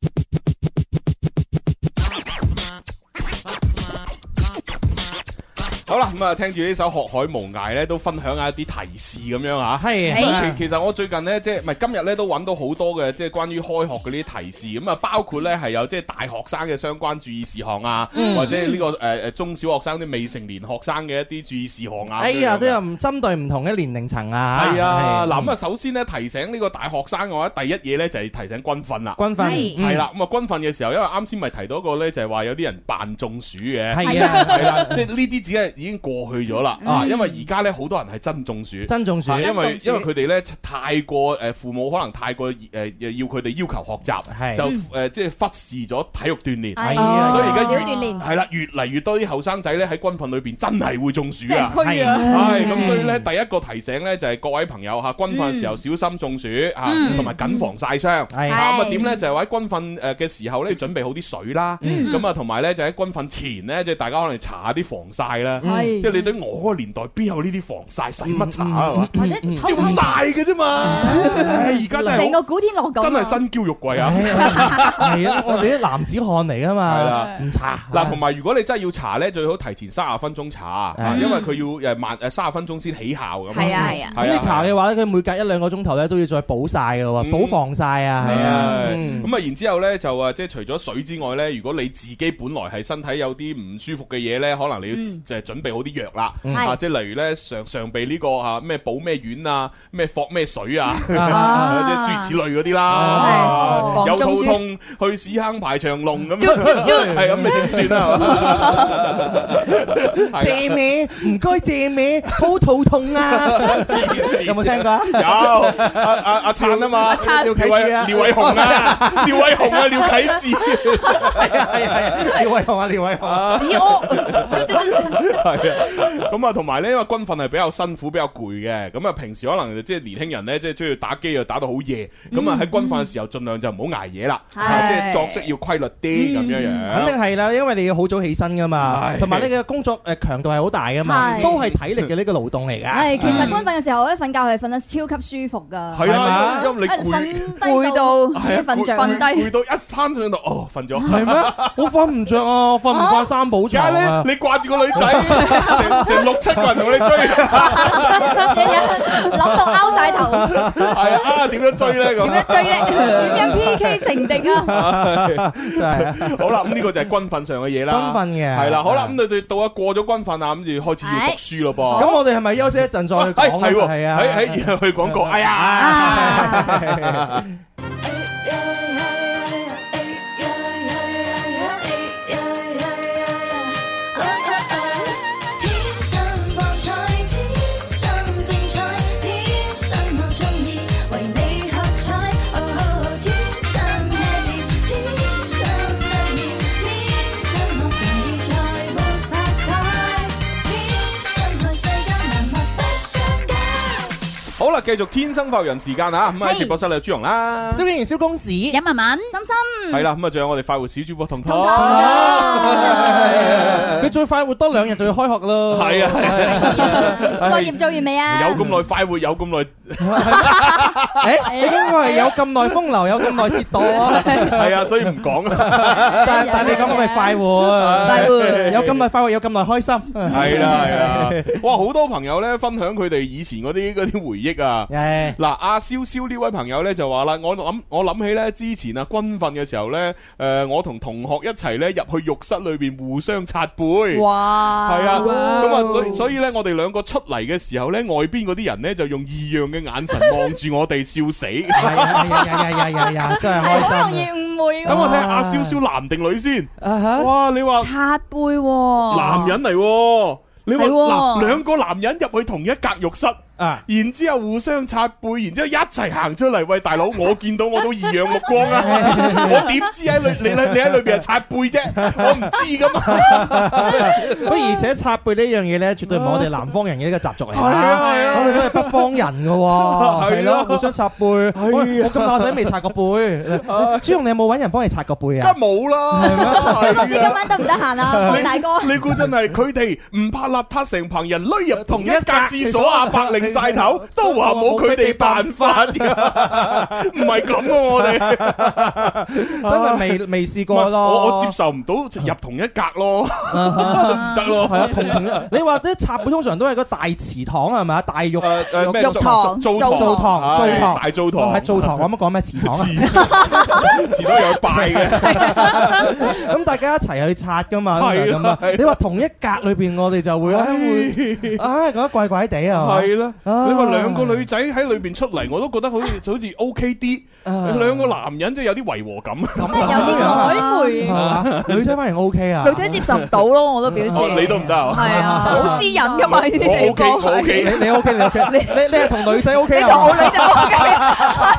好啦，咁啊，聽住呢首《學海無涯》咧，都分享下一啲提示咁樣嚇。 係其實我最近咧，即係唔係今日咧都揾到好多嘅，即係關於開學嘅呢啲提示。咁啊，包括咧係有即係大學生嘅相關注意事項啊，或者呢個中小學生啲未成年學生嘅一啲注意事項啊。 哎呀，都有唔針對唔同嘅年齡層啊。 係啊，嗱咁啊，首先咧提醒呢個大學生嘅話，第一嘢咧就係提醒軍訓啦。 軍訓係啦，咁啊軍訓嘅時候，因為啱先咪提到一個咧，就係話有啲人扮中暑嘅。 係啊， 係啦，即係呢啲只係已經過去咗啦。啊，因為而家咧好多人係真中暑， 真中暑， 因為佢哋咧太過父母可能太過要佢哋要求學習，就即係忽視咗體育鍛鍊，所以而家少鍛鍊係啦，越嚟越多啲後生仔咧喺軍訓裏邊真係會中暑啊！ 係咁，所以咧第一個提醒咧就係各位朋友嚇，軍訓嘅時候小心中暑嚇，同埋緊防曬傷。咁啊點咧就係話喺軍訓嘅時候咧要準備好啲水啦，咁啊同埋咧就喺軍訓前咧即係大家可能搽下啲防曬啦，即係你對我嗰個年代邊有呢啲防曬，使乜搽啊？係嘛？ 或者照曬嘅啫嘛。而家真係成個古天樂咁， 真係身嬌肉貴啊！ 係啊，我哋啲男子漢嚟噶嘛， 係啦， 唔搽嗱，同埋如果你真係要搽咧，最好提前30分鐘搽，因為佢要30分鐘先起效咁。 係啊係啊， 咁你搽嘅話咧，佢每隔1-2個鐘頭咧都要再補曬嘅喎，補防曬啊，係啊。 咁啊，然之後咧就即係除咗水之外咧，如果你自己本來係身體有啲唔舒服嘅嘢咧，可能你要就係準備好啲藥啦，即係例如咧常備呢個咩補咩丸啊，咩霍咩水啊，即係諸如此類嗰啲啦。有肚痛去屎坑排長龍咁樣，係咁你點算啊？ 借咩？唔該借咩？好肚痛啊！有冇聽過啊？ 有阿燦啊嘛，廖偉雄啊，廖偉雄啊，廖啟智， 係廖偉雄啊，廖偉雄。 子屋係啊，咁啊，同埋咧，因為軍訓係比較辛苦、比較攰嘅，咁啊，平時可能即係年輕人咧，即係中意打機啊，打到好夜，咁啊喺軍訓嘅時候，盡量就唔好捱夜啦，即係作息要規律啲咁樣樣。 肯定係啦，因為你要好早起身噶嘛，同埋你嘅工作強度係好大噶嘛，都係體力嘅呢個勞動嚟㗎。 係，其實軍訓嘅時候咧，瞓覺係瞓得超級舒服㗎。 係啊，因為你攰到瞓着， 攰到一翻上度，哦，瞓咗。 係咩？我瞓唔着啊，瞓唔慣三寶床啊。 你掛住個女仔，成6-7個人同你追， 日日諗到拗晒頭。 係啊，點樣追咧？咁點樣追咧？ 點樣 PK 情敵啊？ 真係。 好啦，咁呢個就係軍訓上嘅嘢啦。 軍訓嘅係啦，好啦，咁你哋到咗過咗軍訓啊，咁就開始要讀書咯噃。 咁我哋係咪休息一陣再講？ 係啊，喺去廣告。哎呀！ 繼續天生發育人時間啊！咁喺直播室有朱紅啦， 蕭敬元、蕭公子、 尹文文、 心心係啦，咁啊仲有我哋快活小主播彤彤， 佢最快活多2日就要開學咯。 係啊係啊， 作業做完未啊？ 有咁耐快活，有咁耐， 你應該係有咁耐風流，有咁耐折墮啊！ 係啊，所以唔講啊。 但係你講嘅咪快活， 快活有咁耐快活，有咁耐開心。 係啦係啦，哇！好多朋友咧分享佢哋以前嗰啲回憶啊。嗱，阿蕭蕭呢位朋友咧就話啦，我諗起咧之前啊軍訓嘅時候咧，我同同學一齊咧入去浴室裏邊互相擦背。哇！係啊，咁啊，所以咧我哋兩個出嚟嘅時候咧，外邊嗰啲人咧就用異樣嘅眼神望住我哋笑死。 係真係開心。 好容易誤會。 咁我睇下阿蕭蕭男定女先。哇！你話擦背喎， 男人嚟喎。你話係喎嗱，兩個男人入去同一格浴室。然之後互相擦背，然之後一齊行出嚟。喂，大佬，我見到我都異樣目光啊！我點知喺你喺裏邊係擦背啫？我唔知噶嘛。 不過而且擦背呢樣嘢咧，絕對唔係我哋南方人嘅一個習俗嚟。係啊，我哋都係北方人噶。係咯，互相擦背。我咁大仔未擦過背。朱紅，你有冇揾人幫你擦過背啊？ 梗冇啦。 我唔知今晚得唔得閒啊，黃大哥。 你估真係佢哋唔怕邋遢成棚人匿入同一格廁所啊？白領晒頭都話冇佢哋辦法㗎，唔係咁喎，我哋真係未試過咯。 我接受唔到入同一格咯，唔得咯。係啊， 同你話啲擦背通常都係個大祠堂係咪啊？大浴堂、 澡堂、大澡堂， 係澡堂。我乜講咩祠堂啊？ 祠堂有拜嘅， 咁大家一齊去擦㗎嘛。係咁啊。你話同一格裏邊，我哋就會覺得怪怪地啊。 係啦。你話兩個女仔喺裏邊出嚟，我都覺得好似 OK 啲。兩個男人即係有啲違和感， 有啲曖昧。 女仔反而 OK 啊， 女仔接受唔到咯，我都表示。 你都唔得啊？ 係啊，好私隱噶嘛呢啲地方。 我 OK， 你 OK，你係同女仔 OK 啊？ 你同女仔 OK 啊？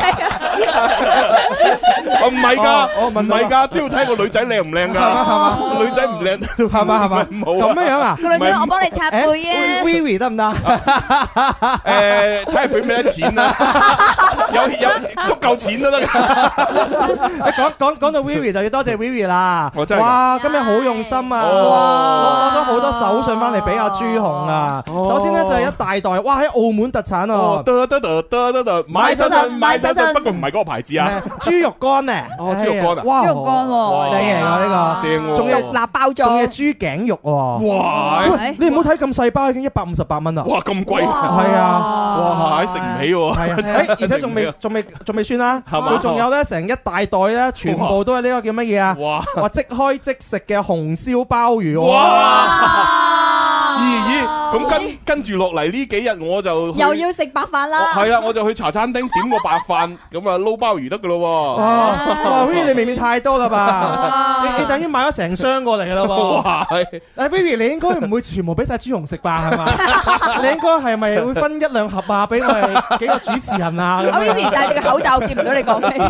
唔係㗎，唔係㗎，都要睇個女仔靚唔靚㗎。係嘛？女仔唔靚，係嘛？ 冇咁樣啊？ 個女仔我幫你擦背啊。 Vivi 得唔得？ 睇下俾唔俾得錢啦，有足夠錢都得㗎。 講到 Vivi 就要多謝 Vivi 啦。 哇， 今日好用心啊！攞咗好多手信翻嚟俾阿朱紅啊。首先咧就係一大袋，哇喺澳門特產哦。買手信， 不過唔係嗰個牌子啊。 豬肉乾咧， 豬肉乾啊， 哇，豬肉乾喎， 正嚟㗎呢個， 正喎， 仲有獨立包裝， 仲有豬頸肉喎。哇！你唔好睇咁細包，已經158蚊啦。 哇，咁貴！ 係啊， 哇，食唔起喎。 係啊，而且仲未算啦，佢仲有咧成一大袋咧，全部都係呢個叫乜嘢啊？話即開即食嘅紅燒鮑魚。哇！ 咦，咁跟住落嚟呢幾日我就又要食白飯啦。 係啦，我就去茶餐廳點個白飯，咁啊撈鮑魚得噶咯。 哇 Vivi 你未免太多啦吧？你等於買咗成箱過嚟噶啦喎。Vivi 你應該唔會全部俾晒朱紅食吧？係嘛？你應該係咪會分1-2盒啊？俾我哋幾個主持人啊 ？Vivi 戴住個口罩，見唔到你講咩。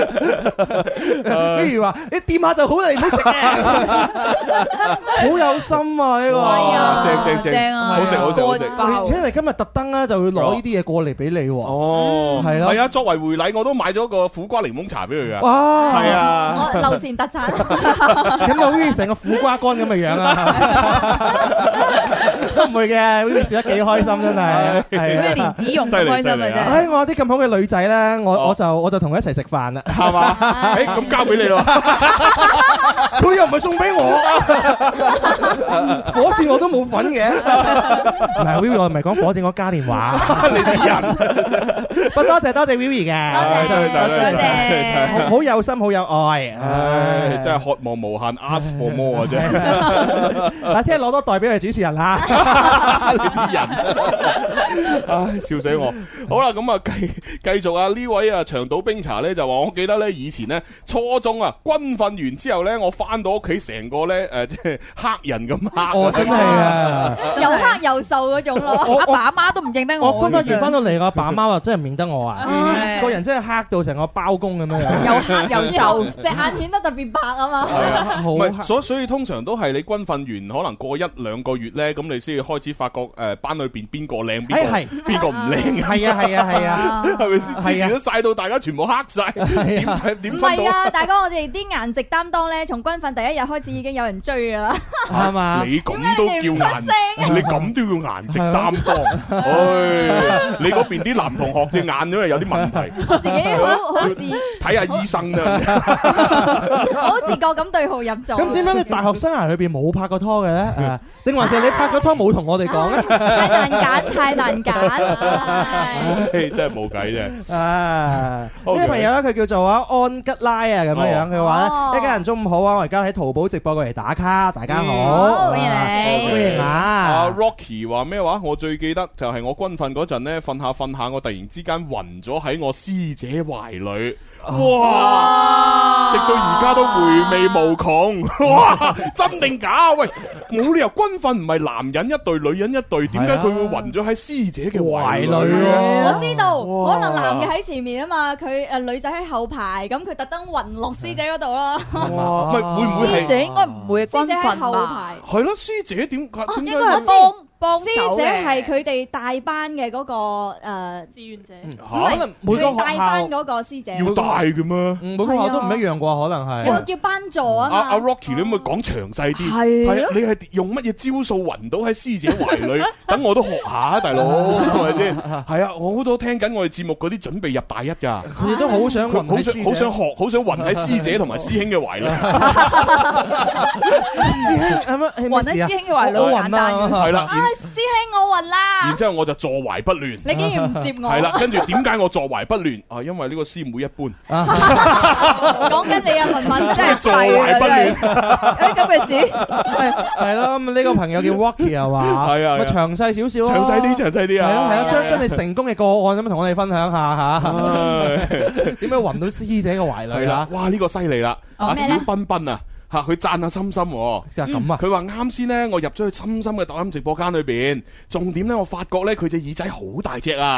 Vivi 話：你掂下就好啦，你唔好食嘅。好有心啊呢個。 正啊，好食。 而且你今日特登咧就會攞呢啲嘢過嚟俾你喎。 哦， 係咯。 係啊，作為回禮我都買咗個苦瓜檸檬茶俾佢噶。 哇， 係啊， 我樓前特產。 咁就好似成個苦瓜乾咁嘅樣啊！都唔會嘅，Vivi 食得幾開心真係。係啊， 連子蓉咁開心嘅啫。 我有啲咁好嘅女仔咧，我就同佢一齊食飯啦， 係嘛？咁交俾你咯。 佢又唔係送俾我，火箭我都冇份嘅。唔係 Vivi，我唔係講火箭，我加電話。 你啲人， 不多謝 Vivi 嘅， 多謝， 好有心，好有愛。 唉，真係渴望無限 ，ask for more 啊！真。 嗱，聽日攞多袋俾佢主持人嚇。 你啲人，唉，笑死我。好啦，咁啊繼續啊，呢位啊長島冰茶咧就話，我記得咧以前咧初中啊軍訓完之後咧，我翻到屋企成個咧即係黑人咁黑。 哦，真係啊！ 又黑又瘦嗰種咯， 阿爸阿媽都唔認得我。 我軍訓完翻到嚟，我阿爸阿媽話真係唔認得我啊！個人真係黑到成個包公咁樣樣， 又黑又瘦， 隻眼顯得特別白啊嘛。 唔係，所以通常都係你軍訓完，可能過1-2個月咧，咁你先開始發覺班裏邊邊個靚邊個係邊個唔靚啊？ 係啊係啊係啊， 係咪先？之前都曬到大家全部黑晒，點唔分到？ 係啊，大哥，我哋啲顏值擔當咧，從軍訓第一日開始已經有人追噶啦。 係嘛？ 你咁都叫顏，你咁都要顏值擔當？唉，你嗰邊啲男同學隻眼因為有啲問題， 自己好自睇下醫生啫。 好自覺咁對號入座。 咁點解你大學生涯裏邊冇拍過拖嘅咧？定還是你拍過拖冇同我哋講咧？ 太難揀，太難揀。 真係冇計啫。 呢個朋友咧，佢叫做安吉拉啊，咁樣樣佢話咧，一家人中午好啊！我而家喺淘寶直播過嚟打卡，大家好， 歡迎你， 歡迎啊！ 阿 Rocky 話咩話？我最記得就係我軍訓嗰陣咧，瞓下，我突然之間暈咗喺我師姐懷裏。哇！直到而家都回味無窮。哇！真定假？喂，冇理由軍訓唔係男人一隊，女人一隊，點解佢會暈咗喺師姐嘅懷裏啊？ 我知道，可能男嘅喺前面啊嘛，佢女仔喺後排，咁佢特登暈落師姐嗰度咯。 哇！會唔會係師姐應該唔會軍師姐喺訓吧？ 後排， 係咯？師姐點應該係幫手師姐嘅係佢哋大班嘅嗰個志願者， 可能每個佢哋大學校班嗰個師姐， 要大嘅咩？ 每個學校都唔一樣啩，可能係。 有個叫班座啊嘛。 阿 Rocky，你可唔可以講詳細啲？ 係係啊，你係用乜嘢招數暈到喺師姐懷裏？等我都學下啊，大佬，係咪先？係啊，我好多聽緊我哋節目嗰啲準備入大一㗎， 佢哋都好想暈喺師姐， 好想學，好想暈喺師姐同埋師兄嘅懷裏。 師兄係乜？ 暈喺師兄嘅懷裏好簡單嘅。 係啦， 師兄我暈啦。 然之後我就坐懷不亂。 你竟然唔接我？ 係啦，跟住點解我坐懷不亂？啊，因為呢個師妹一般。 講緊你啊，文文真係坐懷不亂。 有啲咁嘅事， 係咯。咁呢個朋友叫 Rocky 又話， 係啊， 咪詳細少少啊， 詳細啲，詳細啲啊。 係啊，將你成功嘅個案咁同我哋分享下嚇。點樣暈到師姐嘅懷裏啊？ 哇！呢個犀利啦，阿咩咧小彬彬啊！嚇佢讚下心心喎， 就咁啊！ 佢話啱先咧，我入咗去心心嘅抖音直播間裏邊，重點咧，我發覺咧佢隻耳仔好大隻啊！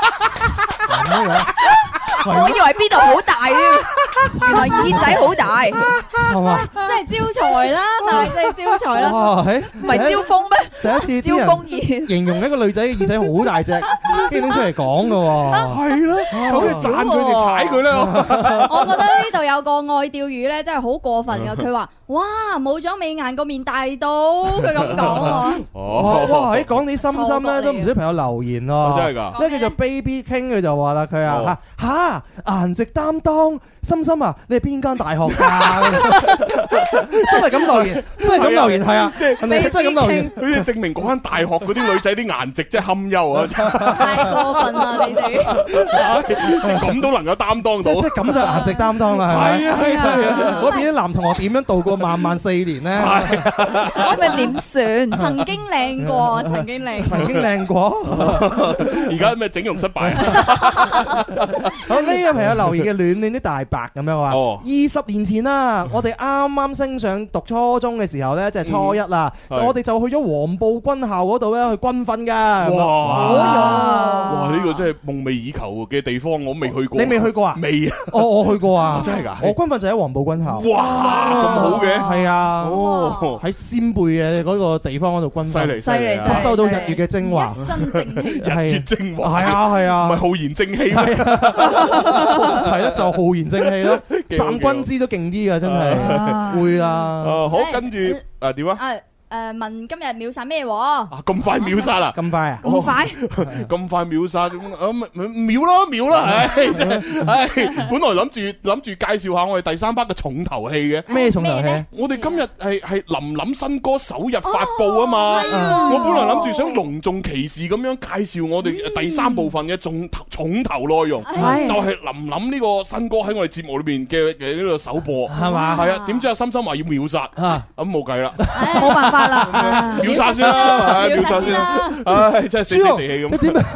我以為邊度好大啊，原來耳仔好大， 係嘛？ 真係招財啦，大隻招財啦。 哇！ 唔係招風咩？ 第一次啲招風人耳。 形容一個女仔嘅耳仔好大隻，跟住拎出嚟講嘅喎。 係咯，咁你讚佢哋踩佢啦！ 我覺得呢度有個愛釣魚咧，真係好過分噶。佢話：哇，冇咗美顏個面大到，佢咁講喎。 哦， 哇！喺講你心心咧，都唔少朋友留言喎。 真係㗎！ 呢個叫做 Baby King，佢就話啦，佢啊嚇顏值擔當，心心啊，你係邊間大學㗎？真係咁留言，真係咁留言，係啊，即係人哋真係咁留言， 佢哋證明嗰間大學嗰啲女仔啲顏值真係堪憂啊！ 太過分啦，你哋咁都能夠擔當到， 即係咁就顏值擔當啦，係咪？ 係啊係啊！ 嗰邊啲男同學點樣度過漫漫4年咧？ 咁咪點算？ 曾經靚過，曾經靚過。 曾經靚過， 而家咩整容失敗？ 好，呢個朋友留言嘅暖暖啲大白咁樣話，20年前啦，我哋啱啱升上讀初中嘅時候咧，即係初一啦，我哋就去咗黃埔軍校嗰度咧去軍訓㗎。 哇！呢個真係夢寐以求嘅地方，我未去過。 你未去過啊？ 未啊！ 我去過啊！ 真係㗎！ 我軍訓就喺黃埔軍校。 哇！咁好嘅， 係啊！ 哦， 喺仙貝嘅嗰個地方嗰度軍訓， 犀利犀利吸收到日月嘅精華， 一身正氣。 日月精華。 係啊係啊， 唔係浩然正氣咩？ 係咯，就浩然正氣咯。站軍姿都勁啲㗎，真係會啦。 好，跟住點啊？ 問今日秒殺咩喎？ 咁快秒殺啦！ 咁快啊？ 咁快？ 咁快秒殺秒啦！唉，真係唉，本來諗住介紹下我哋第3 part 嘅重頭戲嘅。 咩重頭戲？ 我哋今日係林林新歌首日發佈啊嘛！我本來諗住想隆重其事咁樣介紹我哋第3部分嘅重頭內容，就係林林呢個新歌喺我哋節目裏邊嘅呢個首播，係嘛？係啊，點知阿心心話要秒殺，咁冇計啦， 冇辦法啦， 秒殺先啦，秒殺先啦，唉，真係死死地氣咁。 你點啊？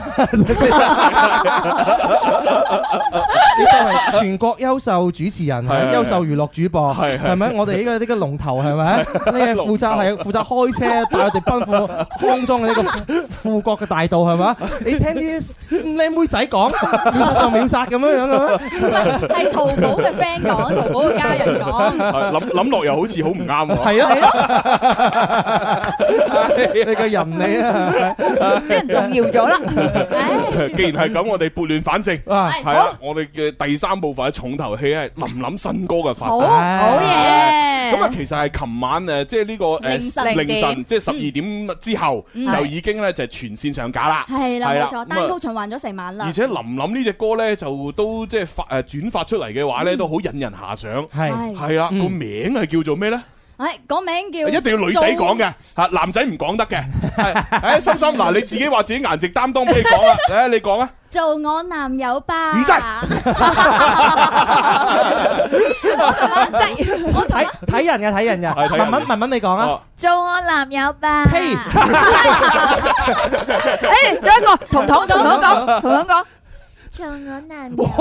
你作為全國優秀主持人，係優秀娛樂主播，係咪？我哋呢個龍頭係咪？你係負責開車帶我哋奔赴康莊嘅呢個富國嘅大道係咪？你聽啲靚妹仔講秒殺就秒殺咁樣樣嘅咩？ 係淘寶嘅 friend 講，淘寶嘅家人講。 諗落又好似好唔啱喎。 係啊。 你個人你啊， 俾人動搖咗啦。 既然係咁，我哋撥亂反正， 啊係啊，我哋嘅第三部分嘅重頭戲係林林新歌嘅發好布。 好嘢。 咁啊，其實係琴晚即係呢個凌晨，即係12點之後就已經咧就全線上架啦。 係啦， 係啦冇錯，單曲循環咗成晚啦。 而且林林呢隻歌咧就都即係轉發出嚟嘅話咧都好引人遐想。係啦，個名係叫做咩咧？ 講名叫一定要女仔講嘅嚇，男仔唔講得嘅。係，心心嗱，你自己話自己顏值擔當，俾你講啦。誒，你講啊！ 做我男友吧。 唔制。 我睇人嘅，睇人嘅。文文你講啊。 做我男友吧。 呸！ 誒，仲有一個，彤講。 做我男友。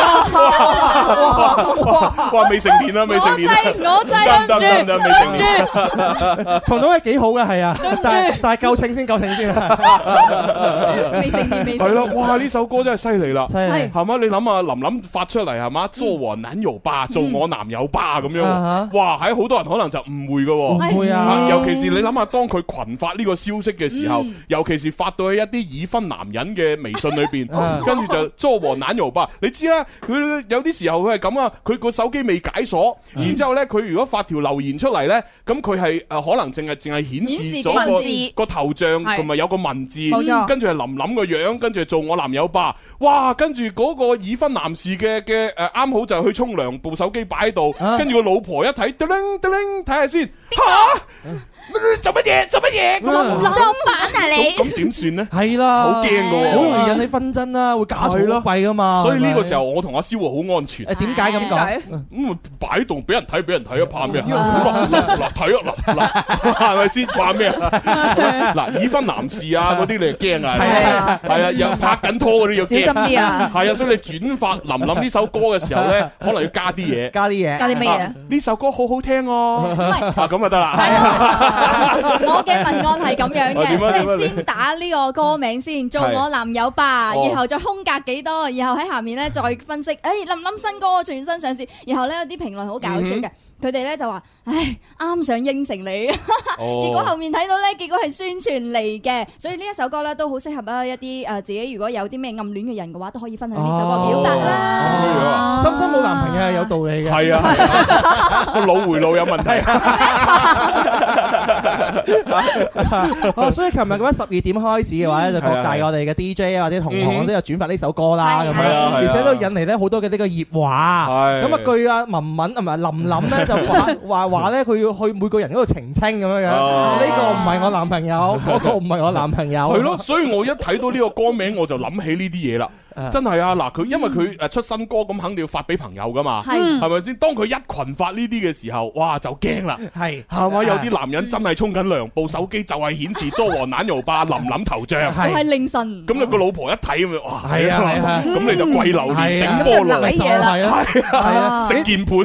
哇！未成年啦，未成年。 我制， 得，未成年。 彤彤係幾好嘅，係啊，但係夠稱先。 未成年。 係咯，哇！呢首歌真係犀利啦， 係係嘛？你諗下，林林發出嚟係嘛？做我男友吧，做我男友吧咁樣，哇！喺好多人可能就誤會嘅喎， 唔會啊， 尤其是你諗下，當佢群發呢個消息嘅時候，尤其是發到喺一啲已婚男人嘅微信裏邊，跟住就做我男友吧。你知啦，佢有啲時候佢係咁啊，佢個手機未解鎖，然之後咧，佢如果發條留言出嚟咧，咁佢係可能淨係顯示咗個頭像同埋有個文字，跟住係林林個樣，跟住做我男友吧。哇！跟住嗰個已婚男士嘅啱好就去沖涼，部手機擺喺度，跟住個老婆一睇，睇下先，嚇！做乜嘢？ 裝版啊你！ 咁點算呢？ 係啦， 好驚㗎喎， 好容易引起紛爭啦，會家嘈屋閉噶嘛。 所以呢個時候我同阿蕭好安全。 點解咁講？ 咁擺喺度俾人睇啊，怕咩啊？嗱睇啊，嗱係咪先？怕咩啊？嗱已婚男士啊嗰啲你就驚啊，係啊，又拍緊拖嗰啲要驚。 小心啲啊！ 係啊，所以你轉發林林呢首歌嘅時候咧，可能要加啲嘢。 加啲咩嘢？ 呢首歌好好聽哦。咁就得啦。 我嘅文案係咁樣嘅，即係先打呢個歌名先，做我男友吧，然後再空格幾多，然後喺下面咧再分析，林林新歌全新上市，然後咧有啲評論好搞笑嘅。佢哋咧就話：唉，啱想應承你，結果後面睇到咧，結果係宣傳嚟嘅，所以呢一首歌咧都好適合一啲自己如果有啲咩暗戀嘅人嘅話，都可以分享呢首歌表達啦。 深深冇男朋友係有道理嘅， 係啊，個腦回路有問題。 所以琴日咁樣12點開始嘅話咧，就各大我哋嘅 DJ 或者同行都有轉發呢首歌啦，咁樣，而且都引嚟咧好多嘅呢個熱話。咁啊，據阿文文同埋林林咧就話咧，佢要去每個人嗰度澄清咁樣樣，呢個唔係我男朋友，嗰個唔係我男朋友。 係咯，所以我一睇到呢個歌名，我就諗起呢啲嘢啦。真係啊！嗱，佢因為佢出新歌，咁肯定要發俾朋友噶嘛，係咪先？當佢一群發呢啲嘅時候，哇就驚啦，係嘛？有啲男人真係沖緊涼，部手機就係顯示咗黃蛋油霸林林頭像， 就係凌晨。 咁你個老婆一睇咁樣，哇！ 係啊， 咁你就跪榴蓮頂菠蘿，係啊，食鍵盤，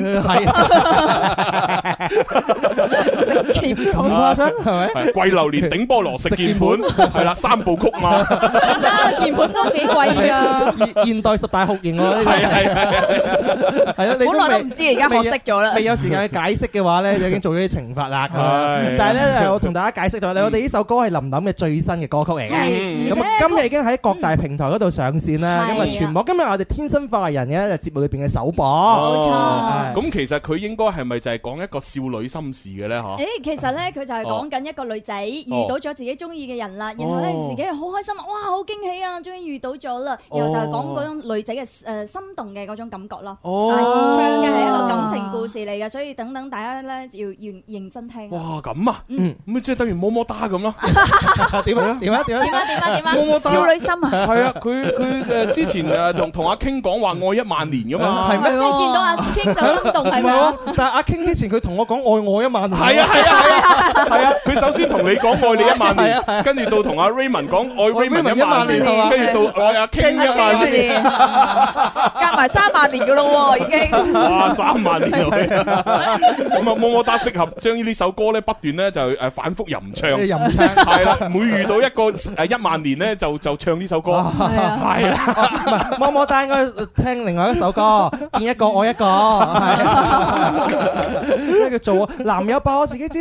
係咁誇張係咪？ 跪榴蓮頂菠蘿食鍵盤，係啦，3部曲嘛， 鍵盤都幾貴㗎。 現代10大酷刑喎，呢個係啊，你好耐都唔知，而家學識咗啦。 未有時間去解釋嘅話咧，就已經做咗啲懲罰啦。但係咧，我同大家解釋咗，我哋呢首歌係林林嘅最新嘅歌曲嚟嘅。咁今日已經喺各大平台嗰度上線啦。咁啊，全網今日我哋天生化人嘅節目裏邊嘅首播。 冇錯。 咁其實佢應該係咪就係講一個少女心事嘅咧？嗬？ 其實咧佢就係講緊一個女仔遇到咗自己中意嘅人啦，然後咧自己係好開心，哇，好驚喜啊，終於遇到咗啦。就係講嗰種女仔嘅心動嘅嗰種感覺咯。唱嘅係一個感情故事嚟嘅，所以等大家咧要認真聽。 哇，咁啊，咁即係等於麼麼噠咁咯。 點啊？ 少女心啊！ 係啊，佢之前同阿 King 講話愛1萬年噶嘛。 係咩？即係見到阿 King 就心動係咪啊？ 但係阿 King 之前佢同我講愛我1萬年。 係啊，佢首先同你講愛你1萬年，跟住到同阿 Raymond 講愛 Raymond 1萬年，跟住到愛阿 King 1萬年， 夾埋3萬年噶咯喎，已經。 哇，3萬年咁啊，麼麼噠適合將呢首歌咧不斷咧就反覆吟唱，係啦，每遇到一個1萬年咧就唱呢首歌，係啊， 麼麼噠應該聽另外一首歌，見一個愛一個，係叫做男友吧，我自己知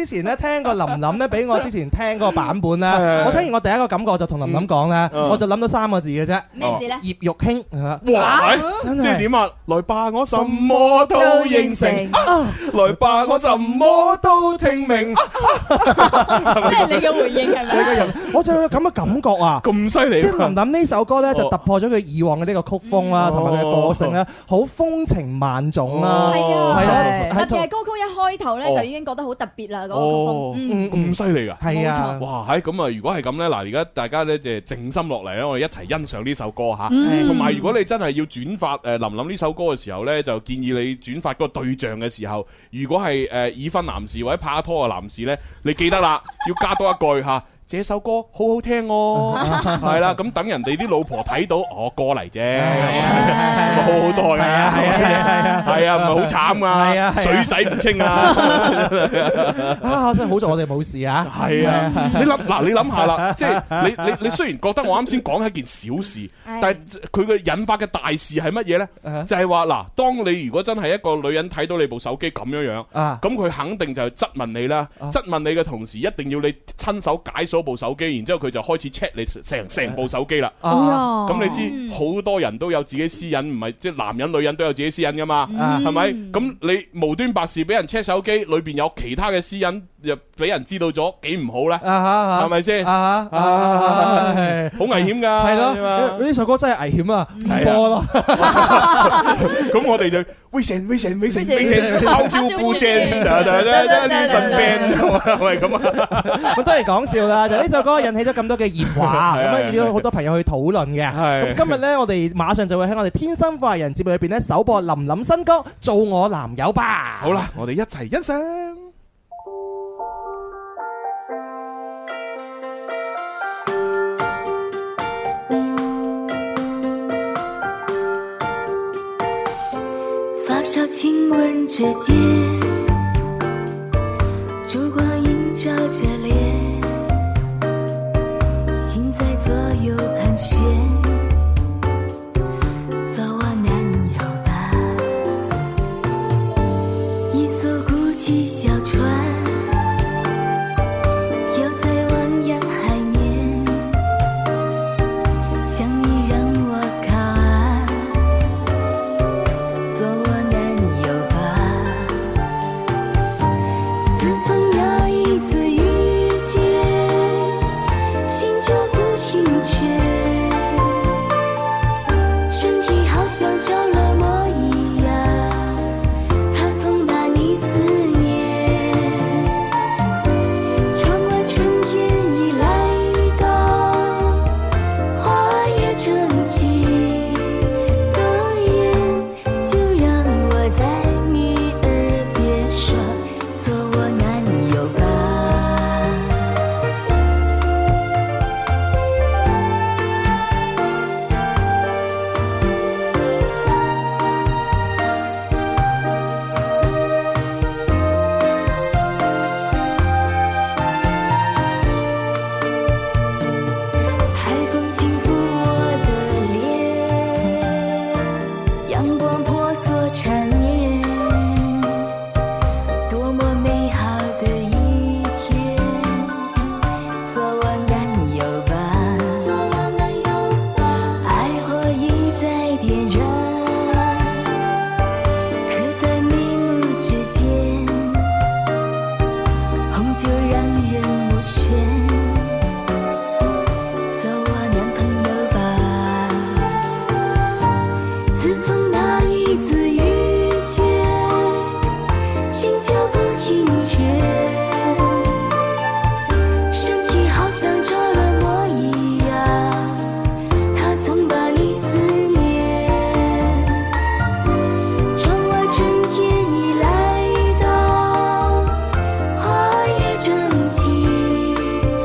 之前咧聽過林林咧，俾我之前聽嗰個版本咧，我聽完我第一個感覺就同林林講咧，我就諗到3個字嘅啫。 咩字咧？ 葉玉卿。 哇！即係點啊？來吧，我什麼都應承。來吧，我什麼都聽明。 即係你嘅回應係咪？ 我就有咁嘅感覺啊！ 咁犀利！ 即係林林呢首歌咧，就突破咗佢以往嘅呢個曲風啦，同埋佢嘅個性咧，好風情萬種啦。 係啊， 係啊， 特別係歌曲一開頭咧，就已經覺得好特別啦，嗰個曲風。 咁犀利㗎！ 係啊！ 哇！咁啊，如果係咁咧，嗱，而家大家咧就靜心落嚟咧，我哋一齊欣賞呢首歌嚇。同埋，如果你真係要轉發林林呢首歌嘅時候咧，就建議你轉發嗰個對象嘅時候，如果係已婚男士或者拍拖嘅男士咧，你記得啦，要加多一句嚇。這首歌好好聽哦，係啦，咁等人哋啲老婆睇到，歌嚟啫，好好多嘅，係啊，唔係好慘啊，水洗唔清啊， 真係好在我哋冇事啊， 係啊，你諗下啦，即係你雖然覺得我啱先講係一件小事，但係佢嘅引發嘅大事係乜嘢咧？就係話嗱，當你如果真係一個女人睇到你部手機咁樣樣，咁佢肯定就係質問你啦，質問你嘅同時，一定要你親手解鎖部手機，然之後佢就開始 check 你成部手機啦。咁你知好多人都有自己私隱，唔係即係男人女人都有自己私隱噶嘛，係咪？咁你無端白事俾人 check 手機，裏邊有其他嘅私隱，又俾人知道咗，幾唔好咧？係咪先？好危險噶。係咯， 呢首歌真係危險啊！唔播咯。 咁我哋就危險，拋招呼正，呢神病係咪咁啊？ 咁都係講笑啦，就呢首歌引起咗咁多嘅熱話，咁啊有好多朋友去討論嘅。咁今日咧，我哋馬上就會喺我哋天生快人節目裏邊咧首播林林新歌《做我男友吧》。 好啦，我哋一齊欣賞。 发梢亲吻着肩，烛光映照着脸，心在左右盘旋，做我男友吧。一艘孤寂小船，飘在汪洋海面，想你让我靠岸，做我男友吧。自从那一次遇见，心就不停歇，身体好像着了魔一样，它总把你思念。窗外春天已来到，花也正气的烟，就让我在你耳边说，做我男友吧。海风轻拂我的脸，阳光婆娑缠绵，多么美好的一天，做我男友吧。爱火已在点燃，刻在眉目之间，红酒让人目眩，做我男朋友吧。自从那一次遇见，心就不停歇，身体好像着了魔一样，它总把你思念。窗外春天已来到，花也正气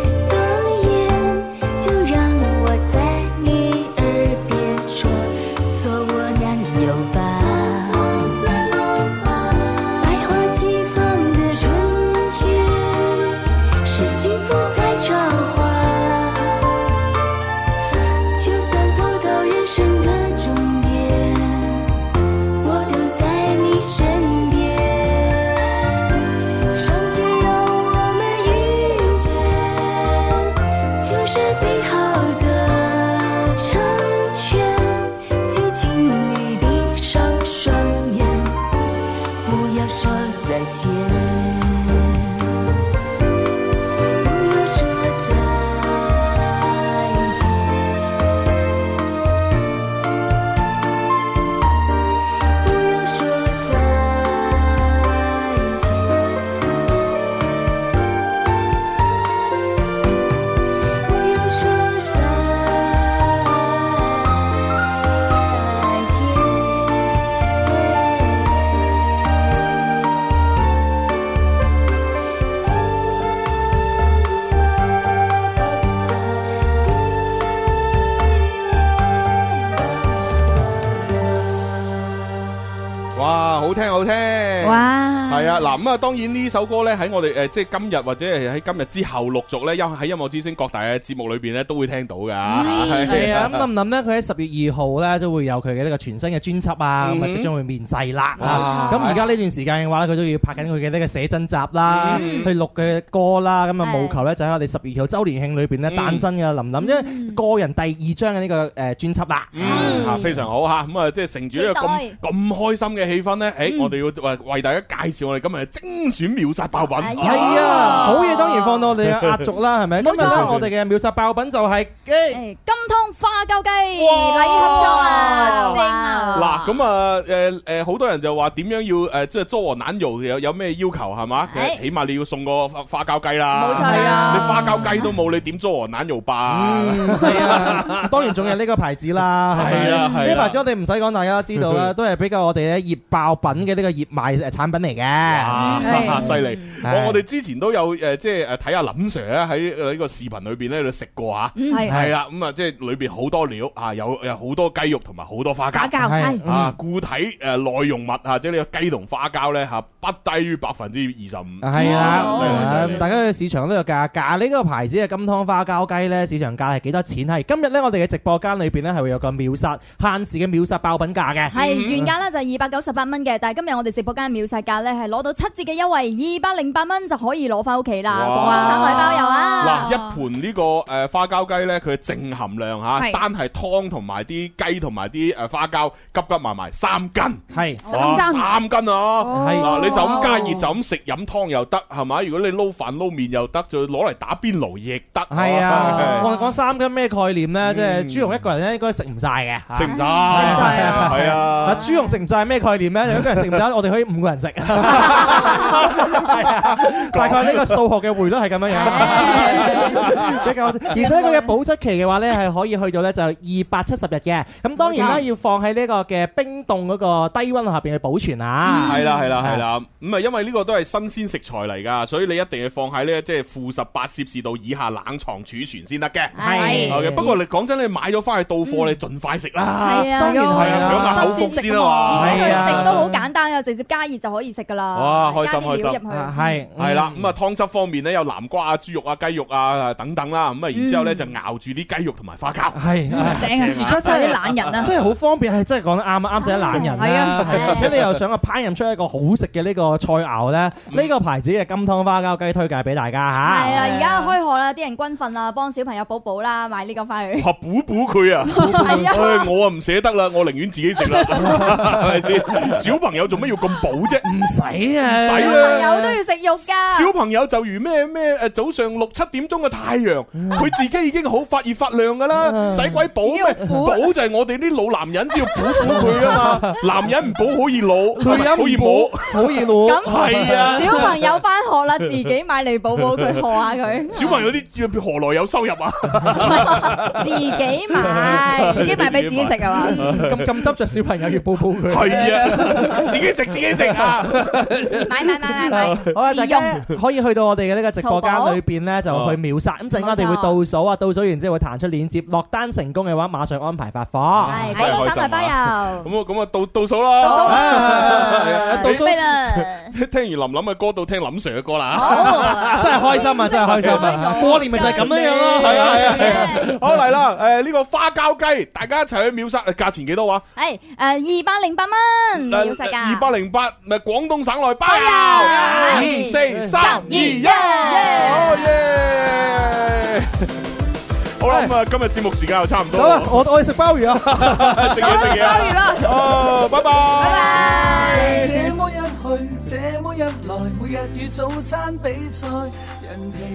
係啊，嗱咁啊，當然呢首歌咧喺我哋即係今日或者係喺今日之後陸續咧，喺音樂之聲各大嘅節目裏邊咧都會聽到㗎。 係啊，咁林林咧，佢喺10月2號咧都會有佢嘅呢個全新嘅專輯啊，咁啊即將會面世啦。咁而家呢段時間嘅話咧，佢都要拍緊佢嘅呢個寫真集啦，去錄嘅歌啦，咁啊務求咧就喺我哋10月2號週年慶裏邊咧誕生嘅林林，因為個人第2張嘅呢個專輯啦。 非常好嚇，咁啊即係乘住呢個咁開心嘅氣氛咧，我哋要為大家介紹我哋今日嘅精選秒殺爆品。 係啊，好嘢當然放到我哋嘅壓軸啦，係咪？今日咧我哋嘅秒殺爆品就係金湯花膠雞禮盒裝啊！正啊！ 嗱咁啊好多人就話點樣要即係做和腩肉有咩要求係嘛？起碼你要送個花膠雞啦。 冇錯啊！ 你花膠雞都冇，你點做和腩肉吧？ 係啊，當然仲有呢個牌子啦。係啊，呢牌子我哋唔使講，大家都知道啦，都係比較我哋咧熱爆品嘅呢個熱賣產品嚟嘅。 犀利！我哋之前都有即係睇下林 Sir 咧喺呢個視頻裏邊咧度食過嚇。係啦，咁啊即係裏邊好多料啊，有好多雞肉同埋好多花膠。啊，固體內容物啊，即係呢個雞同花膠咧嚇，不低於25%。係啊，大家嘅市場都有價價。呢個牌子嘅金湯花膠雞咧，市場價係幾多錢？係今日咧，我哋嘅直播間裏邊咧係會有個秒殺限時嘅秒殺爆品價嘅。 係原價咧就係298蚊嘅，但係今日我哋直播間秒殺價咧係攞到7折嘅優惠，208蚊就可以攞翻屋企啦，廣東省內包郵啊！ 嗱，一盤呢個花膠雞咧，佢嘅淨含量嚇，單係湯同埋啲雞同埋啲花膠急埋3斤，係3斤啊！嗱，你就咁加熱就咁食飲湯又得係咪？如果你撈飯撈麵又得，就攞嚟打邊爐亦得。 係啊，我哋講3斤咩概念咧？即係朱紅一個人咧應該食唔晒嘅， 食唔晒係啊！ 朱紅食唔晒咩概念咧？一個人食唔晒，我哋可以5個人食。大概呢個數學嘅匯率係咁樣樣，比較。而且佢嘅保質期嘅話咧係可以去到咧就270日嘅。咁當然啦，要放喺呢個嘅冰凍嗰個低溫下邊去保存啊。 係啦。咁啊，因為呢個都係新鮮食材嚟㗎，所以你一定要放喺呢即係-18攝氏度以下冷藏儲存先得嘅。係。不過你講真，你買咗翻去到貨，你盡快食啦。 係啊， 當然係啊，口福先啊嘛。 而且佢食都好簡單啊，直接加熱就可以食㗎啦。 哇，開心！ 加啲料入去。 係啦，咁啊湯汁方面咧有南瓜啊、豬肉啊、雞肉啊等等啦，咁啊然之後咧就熬住啲雞肉同埋花膠。係正啊！而家真係啲懶人啊， 真係好方便，係真係講得啱啊，啱食啲懶人。係啊，而且你又想烹飪出一個好食嘅呢個菜肴咧，呢個牌子嘅金湯花膠雞推介俾大家嚇。 係啦，而家開學啦，啲人軍訓啊，幫小朋友補補啦，買呢個翻去。 補佢啊！係啊，我啊唔捨得啦，我寧願自己食啦，係咪先？小朋友做乜要咁補啫？唔使啊！ 小朋友都要食肉㗎。 小朋友就如咩早上6、7點鐘嘅太陽，佢自己已經好發熱發亮㗎啦，使鬼補咩？補就係我哋啲老男人先要補佢啊嘛！男人唔補好易老，女人好易冇，好易老。 咁係啊！ 小朋友翻學啦，自己買嚟補佢，賀下佢。 小朋友啲何來有收入啊？ 自己買俾自己食係嘛？ 咁執着小朋友要補佢。 係啊，自己食啊！ 買。 好啊，大家可以去到我哋嘅呢個直播間裏邊咧，就去秒殺。咁陣間我哋會倒數啊，倒數完之後會彈出鏈接，落單成功嘅話，馬上安排發貨。 係廣東省內包郵。 咁啊，倒數啦！ 倒數啦！ 聽完林林嘅歌，到聽林 Sir 嘅歌啦！ 好，真係開心啊！真係開心啊！過年咪就係咁樣樣咯。 係啊！好嚟啦！呢個花膠雞，大家一齊去秒殺，價錢幾多話？ 係208蚊秒殺價。 208，咪廣東省內包郵。5、4、3、2、1，好耶！好啦，咁啊，今日節目時間又差唔多。 好啦，我哋食鮑魚啊， 食嘢啦。 鮑魚啦。 哦，拜拜。 拜拜。 這麼一去，這麼一來，每日與早餐比賽，人疲